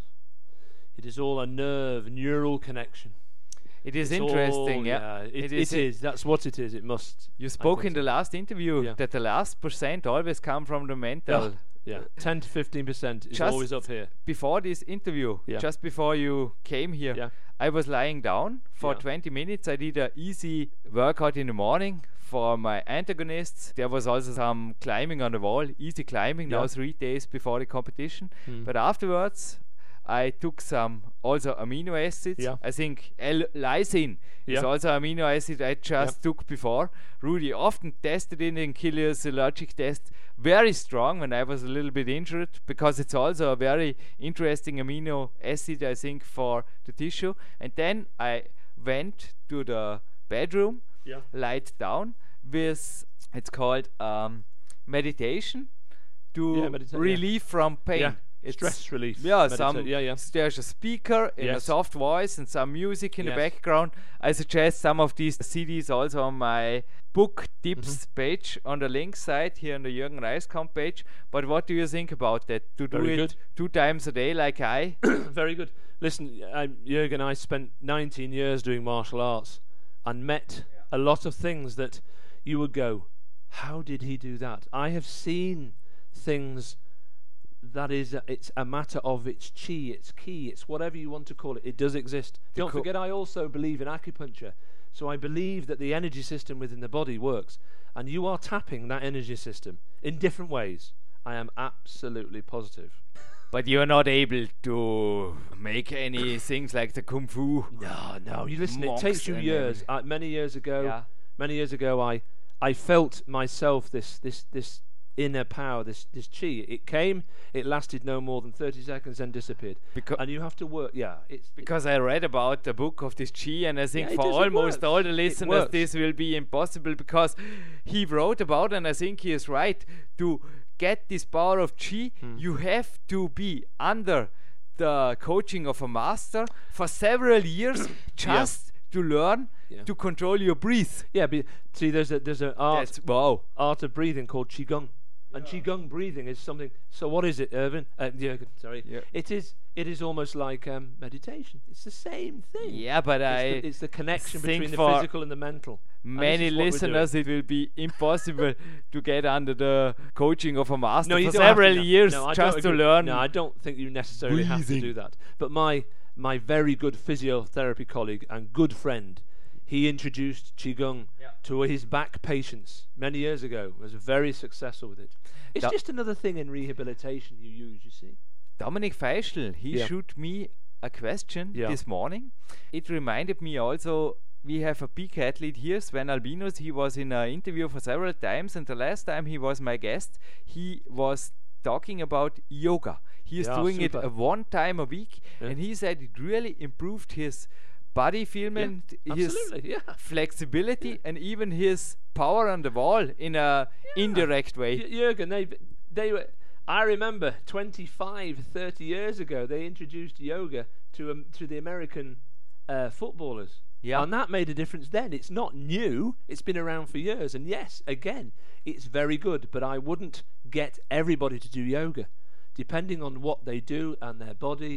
It is all a nerve, neural connection. It is It's interesting, all- yeah. It, It it is is, a- That's what it is. It must. You I spoke think in the so. last interview Yeah. that the last percent always come from the mental. Yeah, ten to fifteen percent is Just always up here. Before this interview, Yeah. just before you came here, Yeah. I was lying down for Yeah. twenty minutes. I did a easy workout in the morning for my antagonists. There was also some climbing on the wall, easy climbing, now Yeah. three days before the competition. Hmm. But afterwards, I took some also amino acids. Yeah. I think L-lysine is Yeah. also amino acid I just took before. Rudy often tested it in kinesiologic test very strong when I was a little bit injured, because it's also a very interesting amino acid, I think, for the tissue. And then I went to the bedroom, Yeah. lied down with, it's called um, meditation to Yeah, medita- yeah. relieve from pain. Yeah. It's Stress relief. yeah, medita- some Yeah, yeah. s- there's a speaker in a Yes. soft voice and some music in the Yes. background. I suggest some of these C Ds also on my book tips Mm-hmm. page on the link side here on the Jürgen Reiskamp page. But what do you think about that? To do Very it good. two times a day like I? Very good. Listen, I, Jürgen, I spent nineteen years doing martial arts and met a lot of things that you would go, how did he do that? I have seen things that is, a, it's a matter of its chi, its ki, it's whatever you want to call it. It does exist. Don't co- forget, I also believe in acupuncture. So I believe that the energy system within the body works, and you are tapping that energy system in different ways. I am absolutely positive. But you're not able to make any things like the kung fu. No, no. You listen. It Monks takes you and years. Uh, many years ago, Yeah. many years ago, I, I felt myself this, this, this inner power, this, this chi. It came. It lasted no more than thirty seconds, then disappeared. Becau- and you have to work. Yeah, it's it- Because I read about the book of this Chi, and I think Yeah, it for does, it almost works. all the It listeners works. this will be impossible, because he wrote about, and I think he is right, to get this power of Chi, Hmm. you have to be under the coaching of a master for several years just to learn Yeah. to control your breath. yeah. But see, there's a there's an art That's wow. art of breathing called qigong, and qigong breathing is something. So what is it, Irvin? Uh, Jürgen, sorry. Yeah. It is it is almost like um, meditation. It's the same thing. Yeah, but It's I the, it's the connection think between the for physical and the mental. And this many is what we're doing. listeners, it will be impossible to get under the coaching of a master No, you for don't have to, several no. years No, I don't just to agree. learn. No, I don't think you necessarily have to breathing. do that. But my my very good physiotherapy colleague and good friend, he introduced qigong Yeah. to his back patients many years ago. Was very successful with it. It's Da- just another thing in rehabilitation you use. You see. Dominic Feischl, he Yeah. shoot me a question Yeah. this morning. It reminded me also, we have a peak athlete here, Sven Albinus. He was in an interview for several times, and the last time he was my guest, he was talking about yoga. He is Yeah, doing it super. a one time a week, Yeah. and he said it really improved his body feelment, his Absolutely. Yeah. flexibility, and even his power on the wall in a indirect way. Y- Jürgen, they they were. I remember twenty-five, thirty years ago, they introduced yoga to um, to the American uh, footballers. Yeah. And that made a difference then. It's not new. It's been around for years. And yes, again, it's very good. But I wouldn't get everybody to do yoga. Depending on what they do and their body,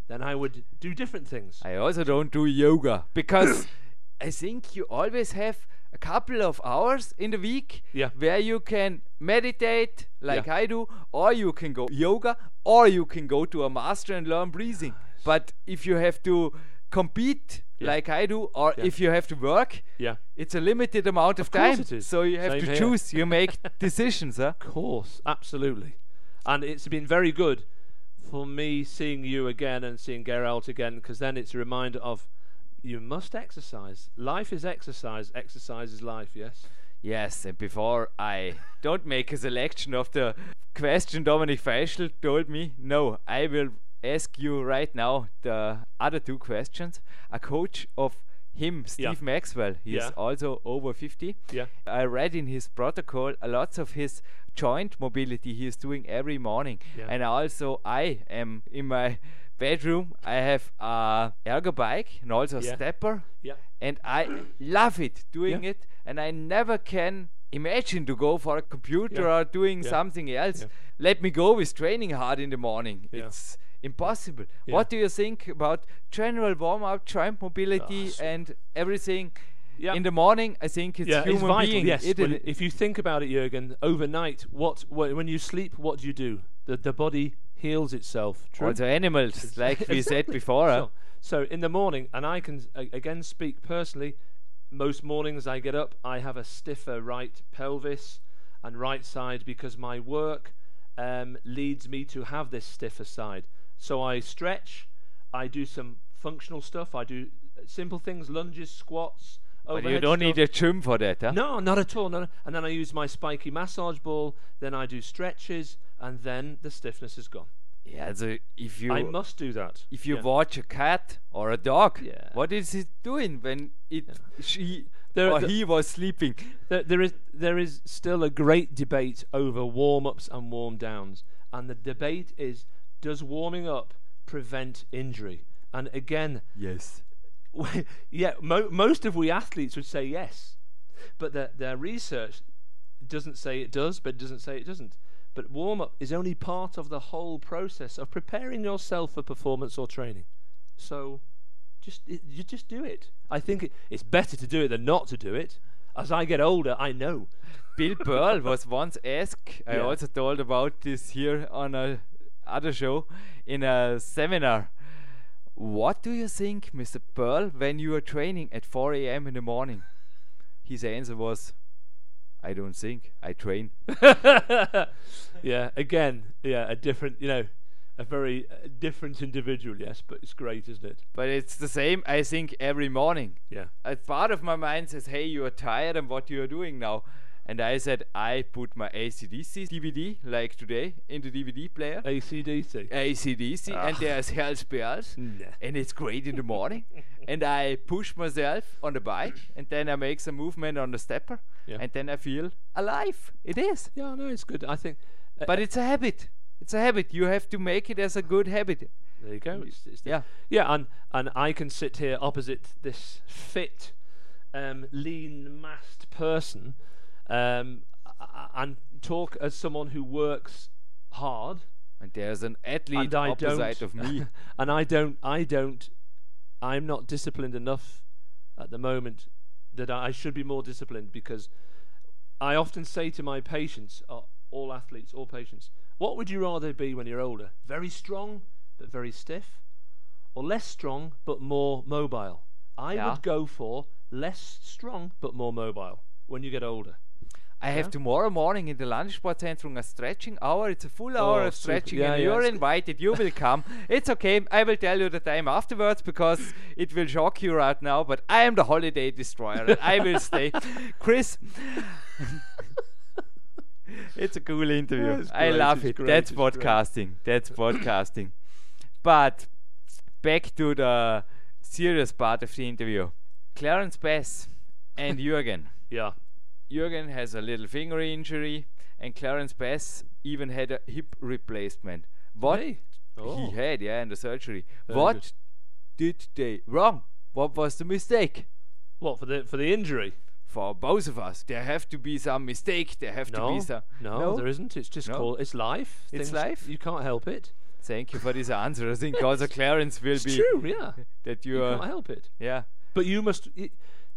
then I would do different things. I also don't do yoga because I think you always have a couple of hours in the week Yeah. where you can meditate like Yeah. I do, or you can go yoga, or you can go to a master and learn breathing. But if you have to compete Yeah. like I do, or Yeah. if you have to work, Yeah. it's a limited amount of, Of course time. it is. So you have Same to here. choose. You make decisions, huh? Of course, absolutely. And it's been very good for me seeing you again and seeing Geralt again, because then it's a reminder of you must exercise. Life is exercise. Exercise is life, yes? Yes, and before I don't make a selection of the question Dominic Feischl told me, no, I will ask you right now the other two questions. A coach of him, Steve Yeah. Maxwell, he's Yeah. also over fifty. Yeah. I read in his protocol a lot of his joint mobility he is doing every morning. Yeah. And also I am in my bedroom, I have a ergo bike and also a Yeah. stepper. Yeah. And I love it doing Yeah. it, and I never can imagine to go for a computer Yeah. or doing Yeah. something else. Yeah. Let me go with training hard in the morning. Yeah. It's impossible. Yeah. What do you think about general warm-up, joint mobility, Ah, so- and everything Yeah. in the morning? I think it's yeah, human it's vital. being. Yes, It when- is- if you think about it, Jürgen, overnight, what wh- when you sleep, what do you do? The the body heals itself. True. also animals, like we said before. huh? So, so in the morning, and I can a- again speak personally. Most mornings I get up, I have a stiffer right pelvis and right side because my work um, leads me to have this stiffer side. So I stretch, I do some functional stuff, I do uh, simple things, lunges, squats. But you overhead don't stuff. need a gym for that, huh? No, not at all. No, no. And then I use my spiky massage ball. Then I do stretches, and then the stiffness is gone. Yeah, so if you I must do that. if you Yeah. watch a cat or a dog, Yeah. what is it doing when it she There- or the- he was sleeping? There, there is there is still a great debate over warm ups and warm downs, and the debate is: does warming up prevent injury? And again, Yes. yeah, mo- most of we athletes would say yes, but their their research doesn't say it does, but it doesn't say it doesn't. But warm up is only part of the whole process of preparing yourself for performance or training. So, just it, you just do it. I think it, it's better to do it than not to do it. As I get older, I know. Bill Pearl was once asked, I Yeah. also told about this here on a other show in a seminar. What do you think, Mister Pearl, when you are training at four a m in the morning? His answer was, I don't think, I train. Yeah, again, yeah, a different, you know, a very uh, different individual, yes, but it's great, isn't it? But it's the same, I think, every morning. Yeah. A part of my mind says, hey, you are tired and what you are doing now. And I said, I put my A C D C D V D, like today, in the D V D player. A C D C. A C D C, and there's Hells Bells, Nah. and it's great in the morning. And I push myself on the bike, and then I make some movement on the stepper, Yeah. and then I feel alive. It is. Yeah, no, it's good. I think. Uh, But it's a habit. It's a habit. You have to make it as a good habit. there you go. It's, it's the- Yeah. Yeah, and and I can sit here opposite this fit, um, lean, massed person, um, a- a- and talk as someone who works hard. And there's an athlete And I opposite don't, of me. and I don't, I don't, I'm not disciplined enough at the moment that I, I should be more disciplined, because I often say to my patients, uh, all athletes, all patients, what would you rather be when you're older? Very strong but very stiff, or less strong but more mobile? I Yeah. would go for less strong but more mobile when you get older. I have Yeah. tomorrow morning in the Landessportzentrum a stretching hour. It's a full hour Oh, of super. stretching, Yeah, and yeah, you're it's- invited. You will come. It's okay. I will tell you the time afterwards because it will shock you right now. But I am the holiday destroyer, and I will stay. Chris, it's a cool interview. Yeah, it's I great, love it's it. great, That's it's great. podcasting. That's podcasting. But back to the serious part of the interview. Clarence Bass and Jürgen. Yeah. Jürgen has a little finger injury, and Clarence Bass even had a hip replacement. What Hey. Oh. he had, yeah, in the surgery. Very what good. did they wrong? What was the mistake? What, for the for the injury? For both of us, there have to be some mistake. There have to No, be some. no, there isn't. It's just No? called. It's life. It's Things- life? You can't help it. Thank you for this answer. I think also Clarence will It's be true, yeah. that You you can't are. help it. Yeah. But you must, i-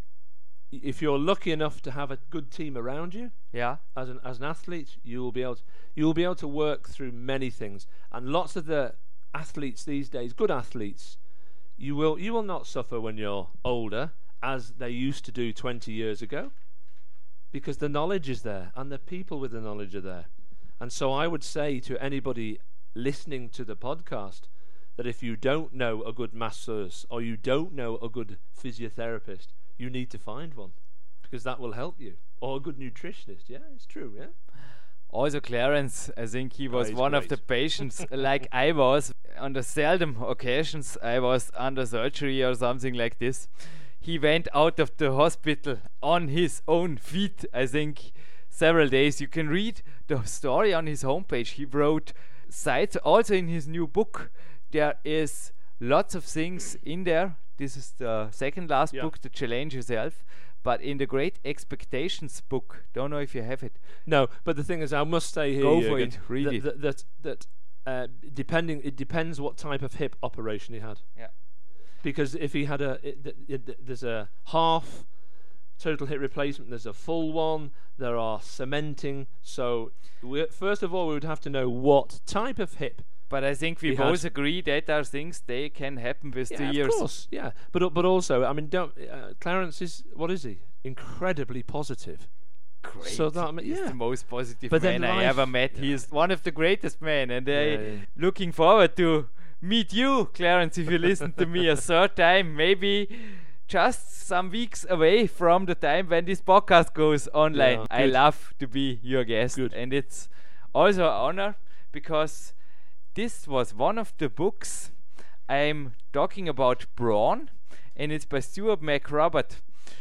if you're lucky enough to have a good team around you, Yeah. as an as an athlete, you will be able to, you will be able to work through many things. And lots of the athletes these days, good athletes, you will you will not suffer when you're older as they used to do twenty years ago, because the knowledge is there and the people with the knowledge are there. And so I would say to anybody listening to the podcast that if you don't know a good masseuse or you don't know a good physiotherapist, you need to find one, because that will help you. Or a good nutritionist. Yeah, it's true, yeah. Also, Clarence, I think he was he's one of the great. patients, like I was. On the seldom occasions I was under surgery or something like this, he went out of the hospital on his own feet, I think, several days. You can read the story on his homepage. He wrote sites, also in his new book. There is lots of things in there. This is the second last Yeah. book, The Challenge Yourself. But in the Great Expectations book, don't know if you have it. No, but the thing is, I must say here, Go for Jürgen, it, read that, it. That that, that uh, depending, it depends what type of hip operation he had. Yeah. Because if he had a, it, th- it, th- there's a half total hip replacement, there's a full one, there are cementing. So we, first of all, we would have to know what type of hip. But I think we He both had- agree that are things they can happen with the Yeah, years. of course, yeah. But uh, but also, I mean, don't uh, Clarence is what is he? Incredibly positive. Great. So that I mean, He's yeah. the most positive But then man I life- ever met. yeah. He is one of the greatest men, and I Yeah, yeah. looking forward to meet you, Clarence, if you listen to me a third time, maybe just some weeks away from the time when this podcast goes online. Yeah, I good. love to be your guest, Good. and it's also an honor because this was one of the books I'm talking about brawn, and it's by Stuart McRobert.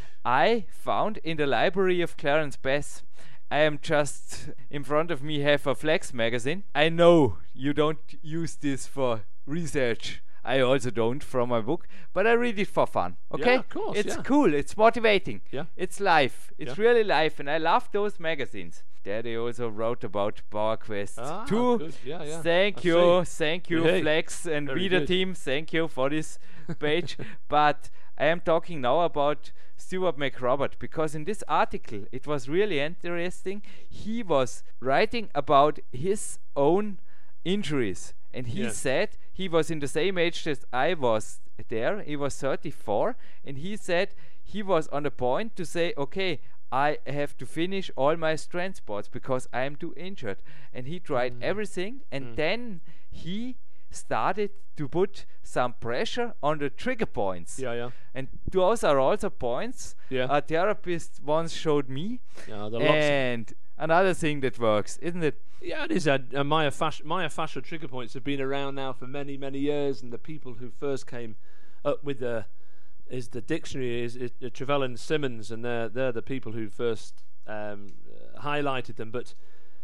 I found in the library of Clarence Bass. I am just in front of me have a Flex magazine. I know you don't use this for research. I also don't from my book, but I read it for fun. Okay, Yeah, of course, it's yeah. cool. It's motivating. Yeah. It's life. It's Yeah. really life, and I love those magazines. There they also wrote about Power Quest Ah, two. good. Yeah, yeah. Thank I you, see. thank you, Hey, Flex and very Reader good. Team. Thank you for this page. But I am talking now about Stuart McRobert, because in this article it was really interesting. He was writing about his own injuries, and he Yeah. said he was in the same age that I was there. He was thirty-four, and he said he was on the point to say, okay, I have to finish all my strength sports because I am too injured. And he tried Mm. everything, and Mm. then he started to put some pressure on the trigger points. Yeah, yeah. And those are also points Yeah. a therapist once showed me. Yeah, there are lots of- And another thing that works, isn't it? Yeah, it is. Uh, uh, myofascial, myofascial trigger points have been around now for many, many years, and the people who first came up with the is the dictionary is, is uh, Travell and Simmons, and they're they're the people who first um, uh, highlighted them. But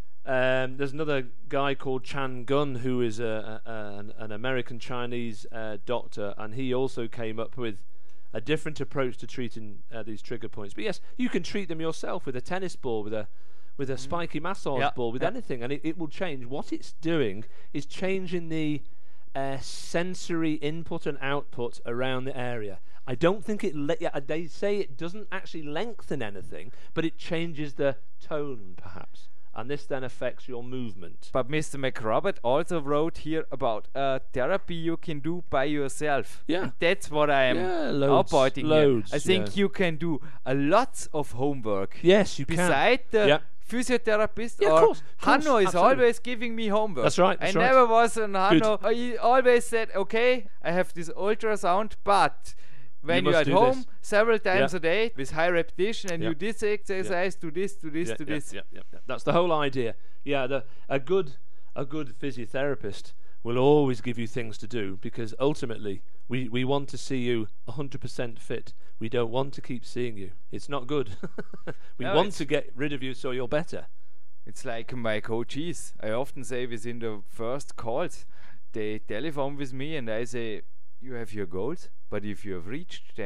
um, there's another guy called Chan Gun who is a, a, a, an, an American Chinese uh, doctor, and he also came up with a different approach to treating uh, these trigger points. But yes, you can treat them yourself with a tennis ball, with a with a spiky massage Yeah, ball, with yeah. anything, and it, it will change. What it's doing is changing the uh, sensory input and output around the area. I don't think it. Le- yeah, they say it doesn't actually lengthen anything, but it changes the tone, perhaps, and this then affects your movement. But Mister McRobert also wrote here about uh, therapy you can do by yourself. Yeah. And that's what I am Yeah, loads, outpointing loads, here. I think yeah. you can do a lot of homework. Yes, you can. Beside the Yeah. physiotherapist, Yeah, of or course, of course, Hanno is absolutely. always giving me homework. That's right, that's I right. never was on Hanno. Good. Uh, He always said, okay, I have this ultrasound, but when You you're must at do home this. several times Yeah. a day with high repetition, and Yeah. you this exercise, do this, do this, yeah, do yeah, this. Yeah, yeah, yeah. That's the whole idea. Yeah, the, a good a good physiotherapist will always give you things to do, because ultimately we, we want to see you one hundred percent fit. We don't want to keep seeing you. It's not good. we No, want it's- to get rid of you so you're better. It's like my coaches. I often say within the first calls, they telephone with me and I say, you have your goals, but if you have reached them,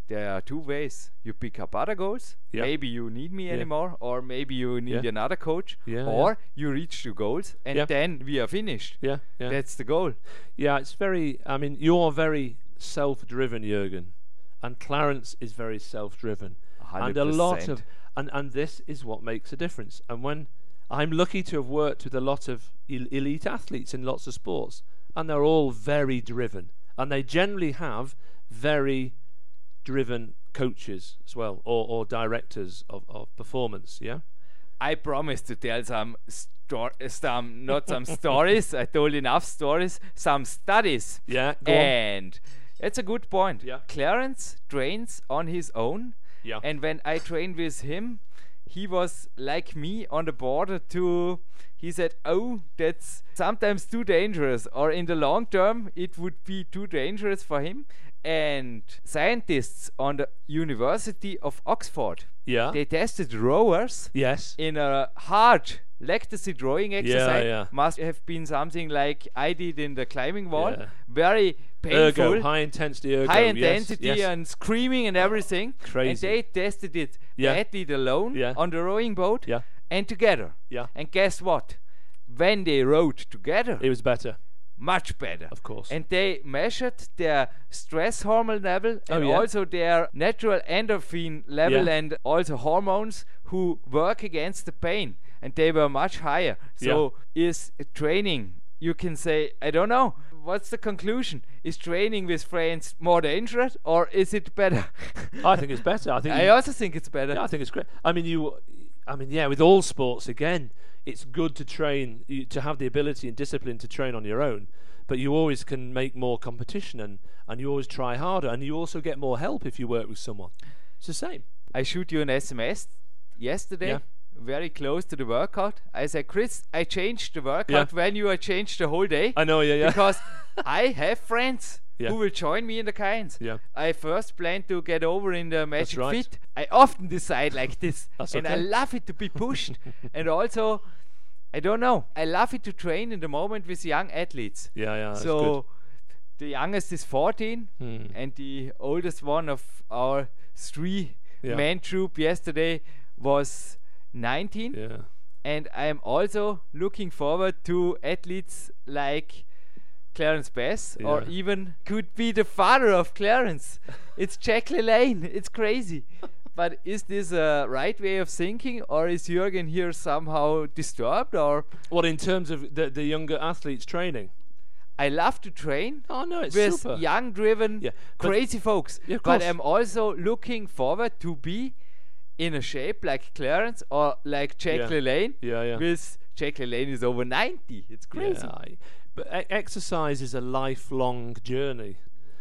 there are two ways. You pick up other goals. Yeah. Maybe you need me Yeah. anymore, or maybe you need Yeah. another coach, Yeah, or you reach the goals and Yeah. then we are finished. Yeah, yeah. That's the goal. Yeah, it's very, I mean, you're very self-driven, Jürgen, and Clarence is very self-driven. And a lot of, and, and this is what makes a difference. And when, I'm lucky to have worked with a lot of el- elite athletes in lots of sports, and they're all very driven. And they generally have very driven coaches as well, or, or directors of, of performance, yeah? I promise to tell some sto- some not some stories. I told enough stories, some studies. Yeah, go on. And it's a good point. Yeah. Clarence trains on his own. Yeah. And when I trained with him, he was like me on the border to, he said, oh, that's sometimes too dangerous, or in the long term, it would be too dangerous for him. And scientists on the University of Oxford, Yeah. they tested rowers Yes. in a hard lactacy drawing exercise. yeah. Must have been something like I did in the climbing wall. Yeah. Very painful. Ergo, high intensity ergo. High yes, intensity yes. and screaming and everything. Crazy. And they tested it, Yeah. the athlete alone Yeah. on the rowing boat Yeah. and together. Yeah. And guess what? When they rowed together, It was better, much better. of course. And they measured their stress hormone level Oh, and yeah. also their natural endorphin level Yeah. and also hormones who work against the pain. And they were much higher. So is training, you can say, I don't know. What's the conclusion? Is training with friends more dangerous or is it better? I think it's better. I think I you- also think it's better. Yeah, I think it's great. I mean, you. I mean, yeah. With all sports, again, it's good to train, you, to have the ability and discipline to train on your own. But you always can make more competition, and and you always try harder, and you also get more help if you work with someone. It's the same. I shoot you an S M S yesterday. Yeah. Very close to the workout. I said, Chris, I changed the workout Yeah. when you are changed the whole day. I know. Yeah, yeah. Because I have friends Yeah. who will join me in the Kynes. Yeah. I first plan to get over in the Magic right. Fit. I often decide like this. That's and I okay. love it to be pushed. And also, I don't know, I love it to train in the moment with young athletes. yeah, yeah. That's so good. the youngest is fourteen Hmm. and the oldest one of our three Yeah. man troop yesterday was nineteen. Yeah. And I'm also looking forward to athletes like Clarence Bass, or Yeah. even could be the father of Clarence. It's Jack LaLanne. It's crazy. But is this a right way of thinking, or is Jürgen here somehow disturbed? Or What in terms of the the younger athletes training? I love to train Oh no, it's with super. young, driven, Yeah, but- crazy folks. Yeah, of but course. I'm also looking forward to be in a shape like Clarence or like Jack Yeah. LaLanne. Yeah, yeah. With Jack LaLanne is over ninety. It's crazy. Yeah, I- but e- exercise is a lifelong journey,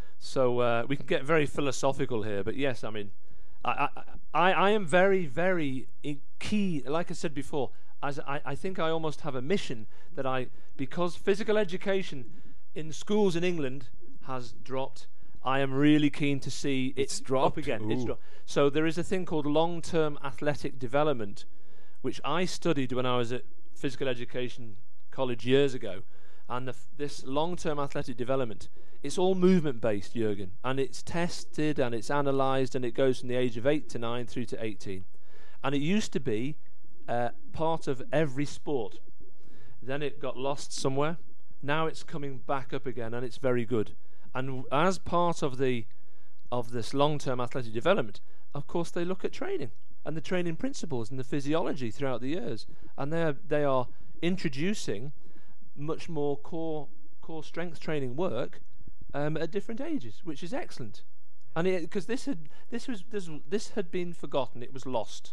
so uh, we can get very philosophical here. But yes, I mean, I I, I, I am very very i- key. Like I said before, as I, I think I almost have a mission that I, because physical education in schools in England has dropped. I am really keen to see It's it dropped? up again. It's Ooh. dropped. So there is a thing called long-term athletic development, which I studied when I was at physical education college years ago. And the f- this long-term athletic development, it's all movement-based, Jürgen, and it's tested and it's analysed, and it goes from the age of eight to nine through to eighteen. And it used to be uh, part of every sport. Then it got lost somewhere. Now it's coming back up again, and it's very good. And w- as part of the of this long-term athletic development, of course, they look at training and the training principles and the physiology throughout the years, and they are they are introducing much more core core strength training work um, at different ages, which is excellent. And because this had this was this this had been forgotten, it was lost.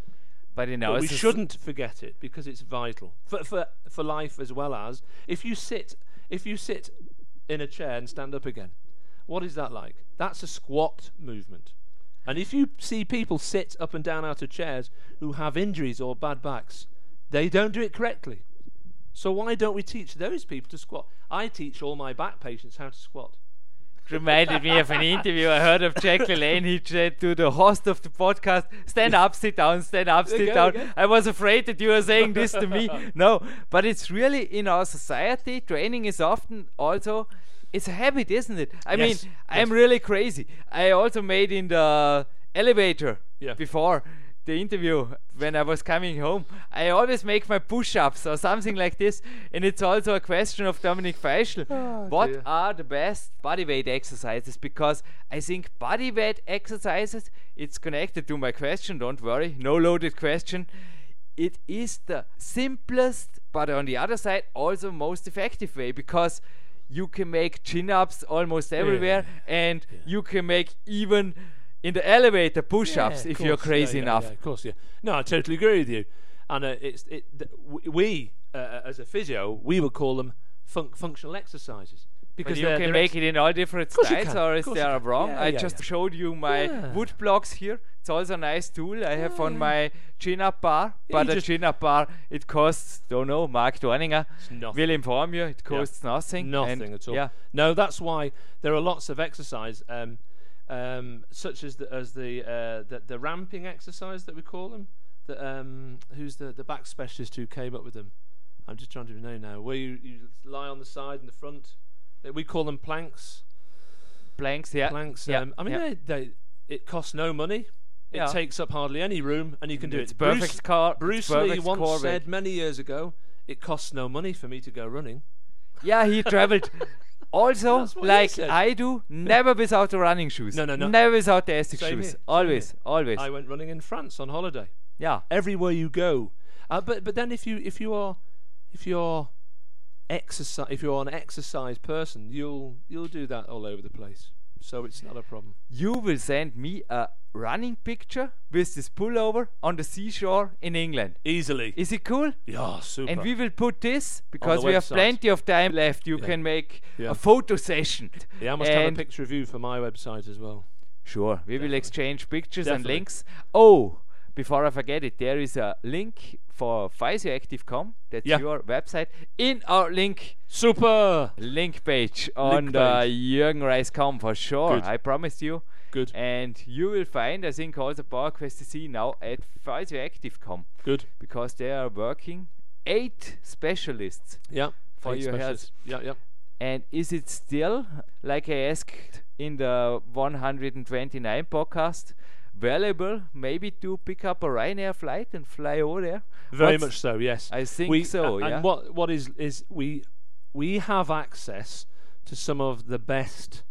But you know, But we it's a s- shouldn't forget it because it's vital for for for life as well as if you sit if you sit in a chair and stand up again. What is that like? That's a squat movement. And if you see people sit up and down out of chairs who have injuries or bad backs, they don't do it correctly. So why don't we teach those people to squat? I teach all my back patients how to squat. reminded me of an interview I heard of Jack LaLanne. He said to the host of the podcast, stand up, sit down, stand up, sit Okay, down. okay. I was afraid that you were saying this to me. No, but it's really in our society, training is often also it's a habit, isn't it? I Yes, mean, yes. I'm really crazy. I also made in the elevator Yeah. before the interview when I was coming home. I always make my push-ups or something like this, and it's also a question of Dominik Feischl. What dear. are the best body weight exercises? Because I think body weight exercises, it's connected to my question, don't worry, no loaded question. It is the simplest, but on the other side, also most effective way, because you can make chin-ups almost everywhere, and you can make even in the elevator push-ups Yeah, if of you're course. crazy Yeah, yeah, enough. yeah, of course, yeah. No, I totally agree with you. And uh, it's it. Th- w- we, uh, as a physio, we would call them fun- functional exercises But because you they're- can they're make it in all different Of course you styles, can, or of is course you there can. wrong? Yeah, I yeah, just yeah. showed you my Yeah. wood blocks here. It's also a nice tool I have on Yeah. my chin-up bar. Yeah, But you a just- chin-up bar, it costs, don't know, Mark Dorninger It's nothing. will inform you, it costs nothing. Nothing and at all. Yeah. No, that's why there are lots of exercise, um, um, such as the as the, uh, the the ramping exercise that we call them. The, um, who's the the back specialist who came up with them? I'm just trying to know now. Where you, you lie on the side and the front. Uh, We call them planks. Planks, yeah. Planks. Yeah, Um, I mean, yeah. they, they it costs no money. It Yeah. takes up hardly any room, and you can do It's it. perfect Bruce, car. Bruce it's Lee perfect once core said weight. many years ago, "It costs no money for me to go running." Yeah, he traveled. Also, That's what he like said. I do, never without the running shoes. No, no, no. Never without the Essex Same shoes. here, same Always, here. always. I went running in France on holiday. Yeah. Everywhere you go, uh, but but then if you if you are if you're exercise if you're an exercise person, you'll you'll do that all over the place. So it's not a problem. You will send me a running picture with this pullover on the seashore in England. Easily. Is it cool? Yeah, super. And we will put this, because the we have website. plenty of time left, you Yeah. can make Yeah. a photo session. yeah, I must have a and picture of you for my website as well. Sure, we will Definitely. exchange pictures and Definitely. links. Oh, before I forget it, there is a link for physioactive dot com. That's Yeah. your website. In our link Super. link page on Link the page. Jürgen Reis dot com for sure. Good. I promise you. Good. And you will find, I think, also PowerQuest C C now at physioactive dot com, Good. because they are working eight specialists Yeah. for Eight your health. specialists. Yeah, yeah. And is it still, like I asked in the one hundred twenty-nine podcast, valuable maybe to pick up a Ryanair flight and fly over there? Very What's- much so. Yes. I think we, so, a- yeah. And what what is is we we have access to some of the best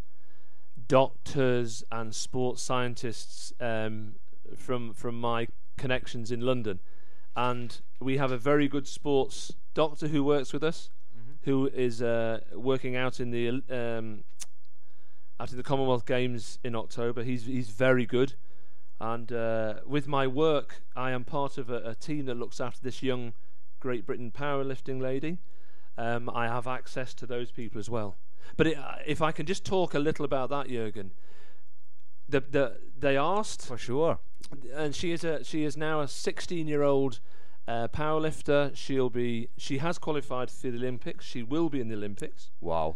doctors and sports scientists um, from from my connections in London, and we have a very good sports doctor who works with us, who is uh, working out in the um, out in the Commonwealth Games in October. He's he's very good. And uh, with my work, I am part of a, a team that looks after this young Great Britain powerlifting lady. Um, I have access to those people as well. But it, uh, if I can just talk a little about that, Jürgen. The, the, they asked, For sure. and she is a she is now a sixteen-year-old uh, powerlifter. She'll be she has qualified for the Olympics. She will be in the Olympics. Wow.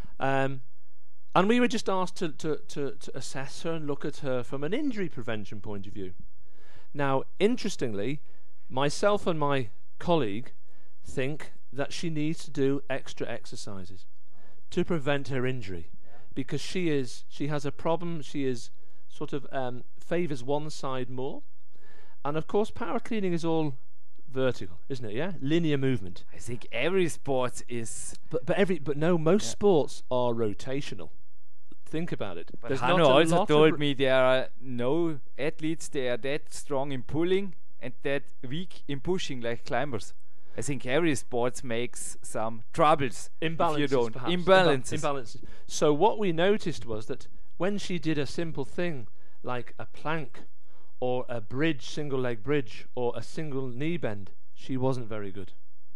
Um, and we were just asked to, to, to, to assess her and look at her from an injury prevention point of view. Now, interestingly, myself and my colleague think that she needs to do extra exercises to prevent her injury, because she is she has a problem. She is sort of um, favours one side more, and of course, power cleaning is all vertical, isn't it? Yeah, linear movement. I think every sport is. But but every but no, most Yeah. sports are rotational. Think about it. But There's Hanno not a also lot told of me there are no athletes they are that strong in pulling and that weak in pushing like climbers. I think every sport makes some troubles imbalances. if you don't. Perhaps. Imbalances. Imba- imbalances. So what we noticed was that when she did a simple thing like a plank or a bridge, single leg bridge, or a single knee bend, she wasn't very good.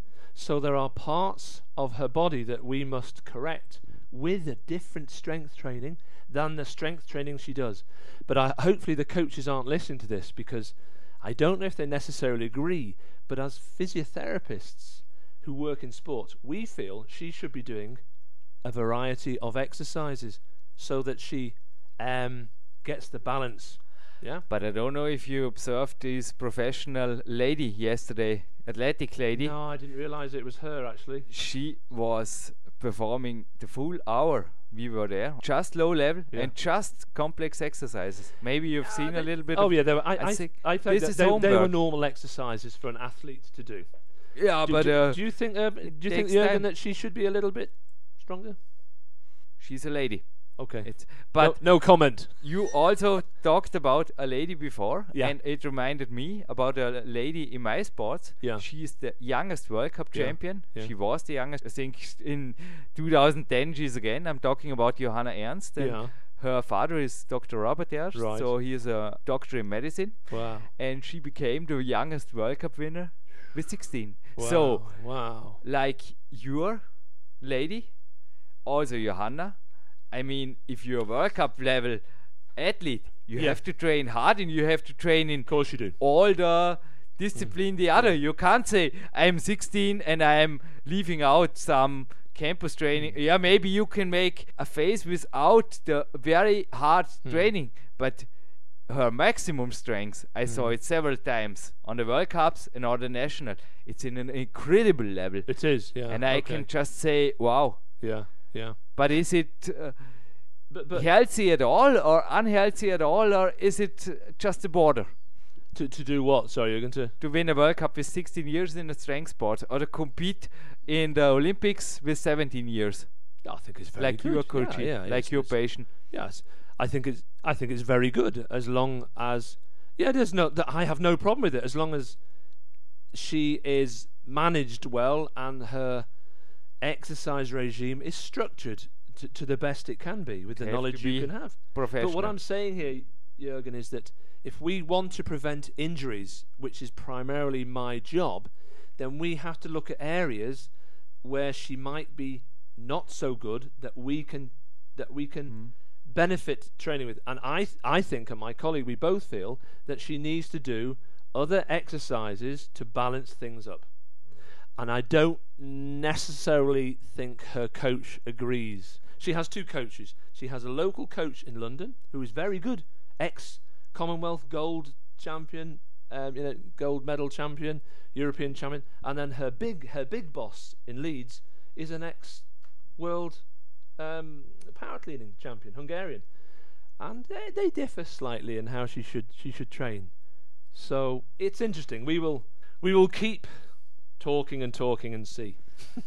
So there are parts of her body that we must correct with a different strength training than the strength training she does. But I, hopefully the coaches aren't listening to this, because I don't know if they necessarily agree, but as physiotherapists who work in sport, we feel she should be doing a variety of exercises so that she um, gets the balance. Yeah. But I don't know if you observed this professional lady yesterday, athletic No, lady. I didn't realize it was her actually. She was performing the full hour we were there. Just low level Yeah. and just complex exercises. Maybe you've seen a little bit Oh of yeah, they were, I, I I, think I thought this that is they, they were homework. normal exercises for an athlete to do. Yeah, do, but do, uh, do you think uh, do you think takes Jürgen time. that she should be a little bit stronger? she's a lady. Okay. It's, but no, no comment. you also talked about a lady before, Yeah. and it reminded me about a lady in my sports. Yeah. She is the youngest World Cup Yeah. champion. Yeah. She was the youngest. I think in two thousand ten she's again. I'm talking about Johanna Ernst. And Yeah. her father is Doctor Robert Ernst, Right. so he is a doctor in medicine. Wow. And she became the youngest World Cup winner with sixteen. So, wow. like your lady, also Johanna. I mean, if you're a World Cup level athlete, you Yeah. have to train hard and you have to train in Of course you do. all the discipline the other. You can't say I'm sixteen and I'm leaving out some campus training. Yeah, maybe you can make a phase without the very hard training, but her maximum strength, I saw it several times on the World Cups and on the national. It's in an incredible level, It is. Yeah. and I okay. can just say, wow. Yeah. Yeah. But is it uh, But but healthy at all, or unhealthy at all, or is it uh, just a border to to do what? Sorry, you're going to. to win a World Cup with sixteen years in a strength sport, or to compete in the Olympics with seventeen years, I think it's very like good. your coach, Yeah, yeah, like it's- your it's- patient? Yes, I think it's I think it's very good as long as yeah, there's no that I have no problem with it as long as she is managed well and her exercise regime is structured to, to the best it can be with the Have to knowledge you be can have. Professional. But what I'm saying here, Jürgen, is that if we want to prevent injuries, which is primarily my job, then we have to look at areas where she might be not so good that we can that we can Mm-hmm. benefit training with. And I th- I think, and my colleague, we both feel that she needs to do other exercises to balance things up. And I don't necessarily think her coach agrees. She has two coaches. She has a local coach in London who is very good, ex-Commonwealth gold champion, um, you know, gold medal champion, European champion, and then her big her big boss in Leeds is an ex-world um, power cleaning champion, Hungarian, and they, they differ slightly in how she should she should train. So it's interesting. We will we will keep talking and talking and see.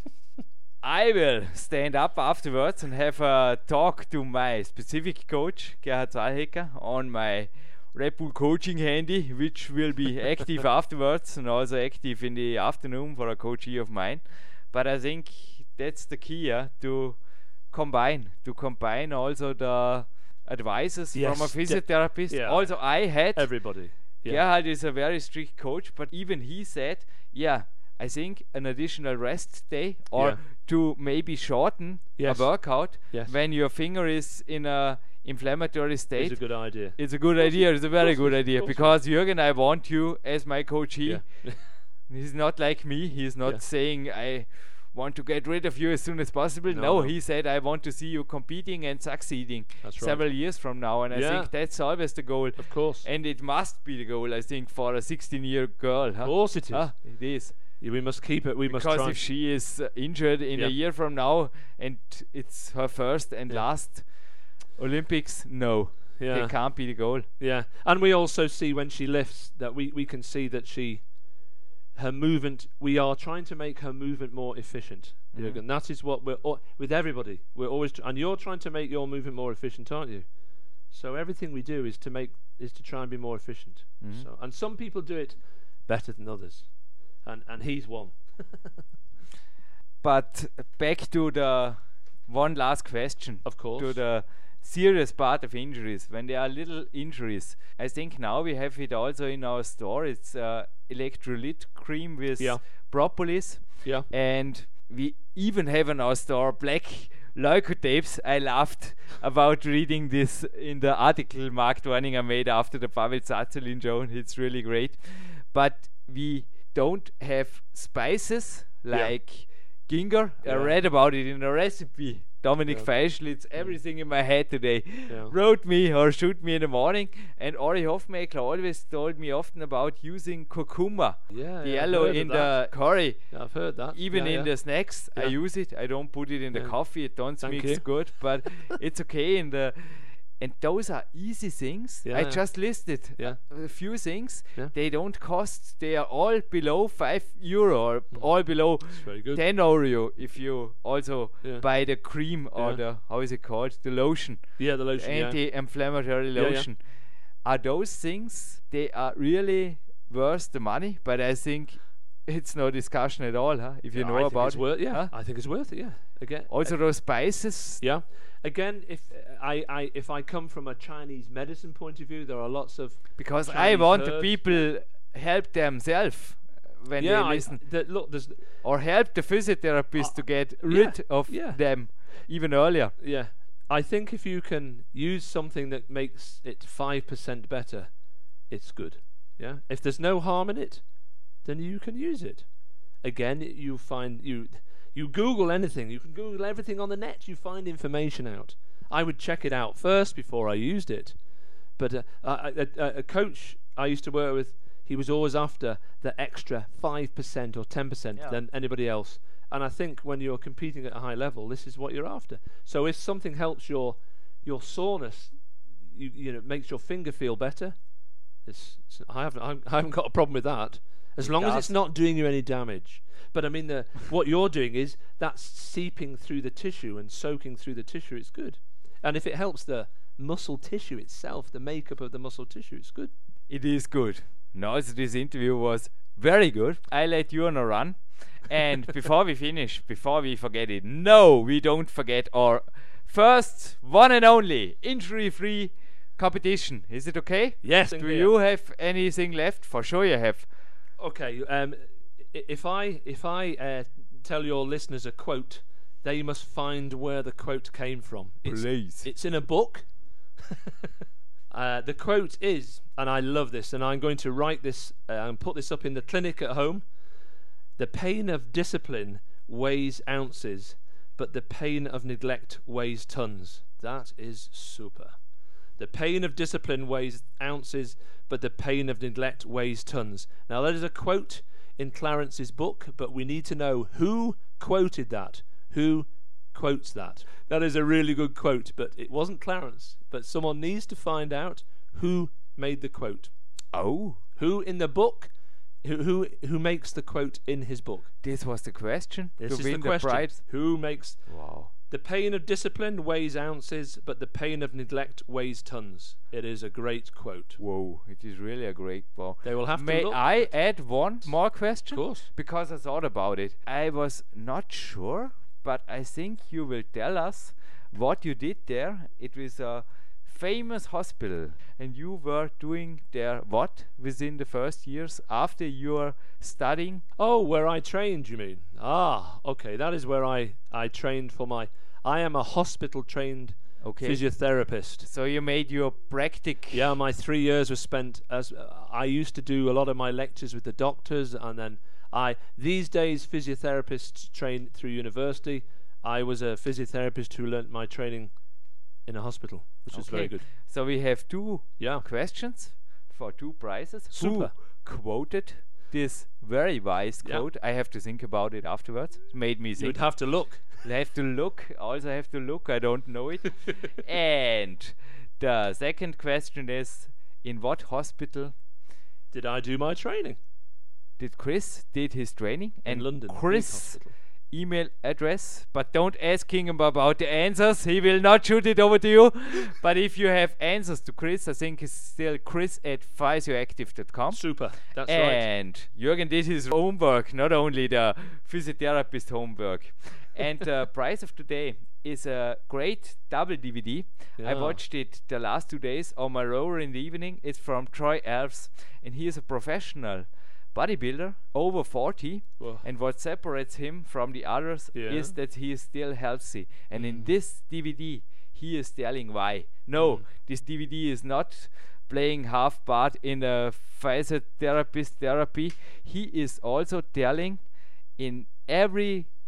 I will stand up afterwards and have a talk to my specific coach, Gerhard Zahlhecker, on my Red Bull coaching handy, which will be active afterwards and also active in the afternoon for a coachee of mine. But I think that's the key, yeah, to combine, to combine also the advices Yes, from a de- physiotherapist. yeah. Also, I had Everybody. Yeah. Gerhard is a very strict coach, but even he said, yeah, I think an additional rest day or Yeah. to maybe shorten Yes. a workout Yes. when your finger is in a inflammatory state. It's a good idea. It's a good idea. It's a very good course, idea of course. because Jürgen, I want you as my coachee. Yeah. He's not like me. He's not Yeah. saying I want to get rid of you as soon as possible. No, No, no. he said I want to see you competing and succeeding That's right. several years from now, and I Yeah. think that's always the goal. Of course. And it must be the goal, I think, for a sixteen-year girl. Huh? Of course it is. Ah, it is. Yeah, we must keep it. We must Because try. if she is uh, injured in Yeah. a year from now and it's her first and Yeah. last Olympics, no, yeah. it can't be the goal. Yeah, and we also see when she lifts that we, we can see that she, her movement, we are trying to make her movement more efficient. Mhm. Jürgen. That is what we're al- with everybody. We're always, tr- and you're trying to make your movement more efficient, aren't you? So everything we do is to make is to try and be more efficient. Mhm. So, and some people do it better than others, and and he's one. But back to the one last question. Of course. To the serious part of injuries. When there are little injuries, I think now we have it also in our store. It's uh, electrolyte cream with Yeah. propolis. Yeah. And we even have in our store black leucotapes. I laughed about reading this in the article Mark Dorninger made after the Pavel Tsatsouline show. It's really great. But we don't have spices Yeah. like ginger. I Yeah. read about it in a recipe. Dominic Yeah. Feischl, it's everything in my head today. Yeah. Wrote me or shoot me in the morning. And Ori Hofmeckler always told me often about using curcuma, Yeah, the yeah, I've yellow heard of in that. the curry. Yeah, I've heard that. Even Yeah, in yeah. the snacks, I Yeah. use it. I don't put it in the Yeah. coffee. It don't Thank mix you. good, but it's okay in the. And those are easy things. Yeah, I yeah. just listed Yeah. a few things. Yeah. They don't cost. They are all below five euro or all below It's very good. ten euro if you also Yeah. buy the cream or Yeah. the how is it called, the lotion, Yeah, the lotion. Yeah. anti-inflammatory Yeah, yeah. lotion. Are those things? They are really worth the money, but I think it's no discussion at all, huh? If you Yeah, know I think about it's it, worth. Yeah, huh? I think it's worth it. Yeah. Again. Also those spices. Yeah. Again, if uh, I, I if I come from a Chinese medicine point of view, there are lots of Because I Chinese want the herbs. people help themselves when yeah. they I, listen, the, look, there's or help the physiotherapist Uh, to get yeah, rid of yeah. them even earlier. yeah. I think if you can use something that makes it five percent better, it's good. Yeah. If there's no harm in it, then you can use it. Again, you find you you Google anything. You can Google everything on the net. You find information out. I would check it out first before I used it. But uh, a, a, a, a coach I used to work with, he was always after the extra five percent or ten percent Yeah. than anybody else. And I think when you're competing at a high level, this is what you're after. So if something helps your your soreness, you you know, makes your finger feel better, it's, it's, I haven't I haven't got a problem with that, as It long as does. it's not doing you any damage. But I mean, the what you're doing is that's seeping through the tissue and soaking through the tissue. It's good, and if it helps the muscle tissue itself, the makeup of the muscle tissue, it's good. It is good. No, so this interview was very good. I let you on a run. And before we finish, before we forget it, no, we don't forget our first, one and only, injury-free competition. Is it okay? Yes. Do you have anything left? For sure you have. Okay. Um, i- if I if I uh, tell your listeners a quote, they must find where the quote came from. It's, Please. it's in a book. uh, the quote is, and I love this, and I'm going to write this uh, and put this up in the clinic at home. The pain of discipline weighs ounces, but the pain of neglect weighs tons. That is super. The pain of discipline weighs ounces, but the pain of neglect weighs tons. Now, that is a quote in Clarence's book, but we need to know who quoted that. Who quotes that? That is a really good quote, but it wasn't Clarence. But someone needs to find out who made the quote. Oh, Who in the book? Who who, who makes the quote in his book? this was the question. This to is win the question. prize. Who makes Wow. the pain of discipline weighs ounces, but the pain of neglect weighs tons. It is a great quote. Whoa, it is really a great ball. They will have to May look. I add one more Of question? course. Because I thought about it. I was not sure, but I think you will tell us what you did there. It was a famous hospital, and you were doing there what within the first years after your studying? Oh, where I trained, you mean? Ah, okay. That is where I, I trained for my... I am a hospital-trained Okay. physiotherapist. So you made your practic. Yeah, my three years was spent as... Uh, I used to do a lot of my lectures with the doctors, and then I... These days, physiotherapists train through university. I was a physiotherapist who learnt my training in a hospital, which was very Okay. good. So we have two Yeah. questions for two prizes. Super. Who quoted this very wise Yeah. quote? I have to think about it afterwards. It made me You'd think. have to look. I have to look. Also have to look. I don't know it. And the second question is, in what hospital Did I do my training? did Chris did his training? In And London. big Chris hospital. email address, but don't ask him about the answers. He will not shoot it over to you. But if you have answers to Chris, I think it's still Chris at physioactive dot com. Super. That's right. And Jürgen did his homework, not only the physiotherapist homework. And the prize of today is a great double D V D. I Yeah. watched it the last two days on my rower in the evening. It's from Troy Alves, and he is a professional bodybuilder, over forty. Whoa. And what separates him from the others Yeah. is that he is still healthy. And in Mm. this D V D, he is telling why. No, Mm. this D V D is not playing half part in a physiotherapist therapy. He is also telling in every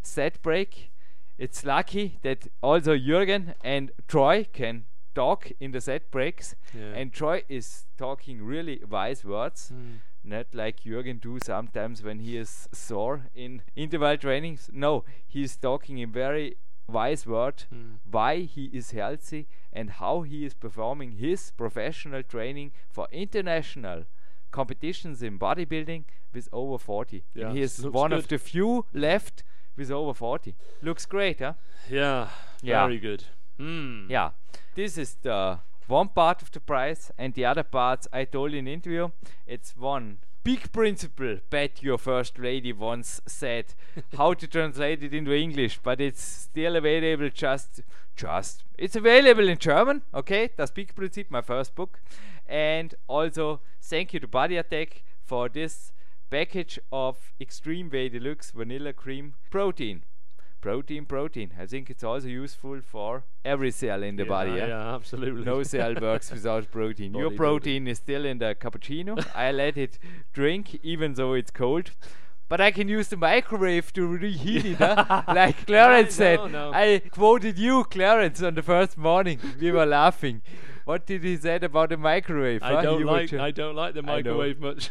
set break. It's lucky that also Jürgen and Troy can talk in the set breaks, Yeah. and Troy is talking really wise words, Mm. not like Jürgen do sometimes when he is sore in interval trainings. No, he is talking in very wise word Mm. why he is healthy and how he is performing his professional training for international competitions in bodybuilding with over forty. Yeah, And he is looks one good. of the few left with over forty. Looks great, huh? Yeah, Yeah. very good. Mm. Yeah. This is the one part of the price, and the other parts I told in interview. It's one big principle that your first lady once said. How to translate it into English, but it's still available. Just, just. It's available in German. Okay, das Big Prinzip, my first book, and also thank you to Body Attack for this package of Extreme Whey Deluxe Vanilla Cream Protein. Protein, protein. I think it's also useful for every cell in the Yeah, body. Yeah? yeah, absolutely. No cell works without protein. Your Bodybuilding. protein is still in the cappuccino. I let it drink even though it's cold. But I can use the microwave to reheat it, huh? Like Clarence No, said. no. I quoted you, Clarence, on the first morning. We were laughing. What did he say about the microwave? huh? I don't You were like. ju- I don't like the I know. microwave much.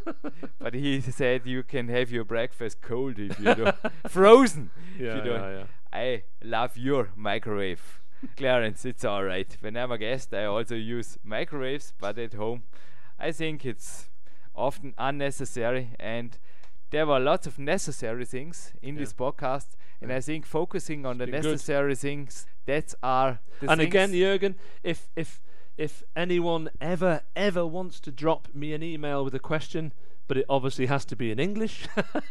But he said you can have your breakfast cold if you don't. Frozen. if Yeah, you don't. yeah, yeah. I love your microwave. Clarence, it's alright. When I'm a guest, I also use microwaves, but at home, I think it's often unnecessary. And there were lots of necessary things in Yeah. this podcast. And I think focusing on the been good. necessary things, that's are the And things. again, Jürgen, if if if anyone ever ever wants to drop me an email with a question, but it obviously has to be in English,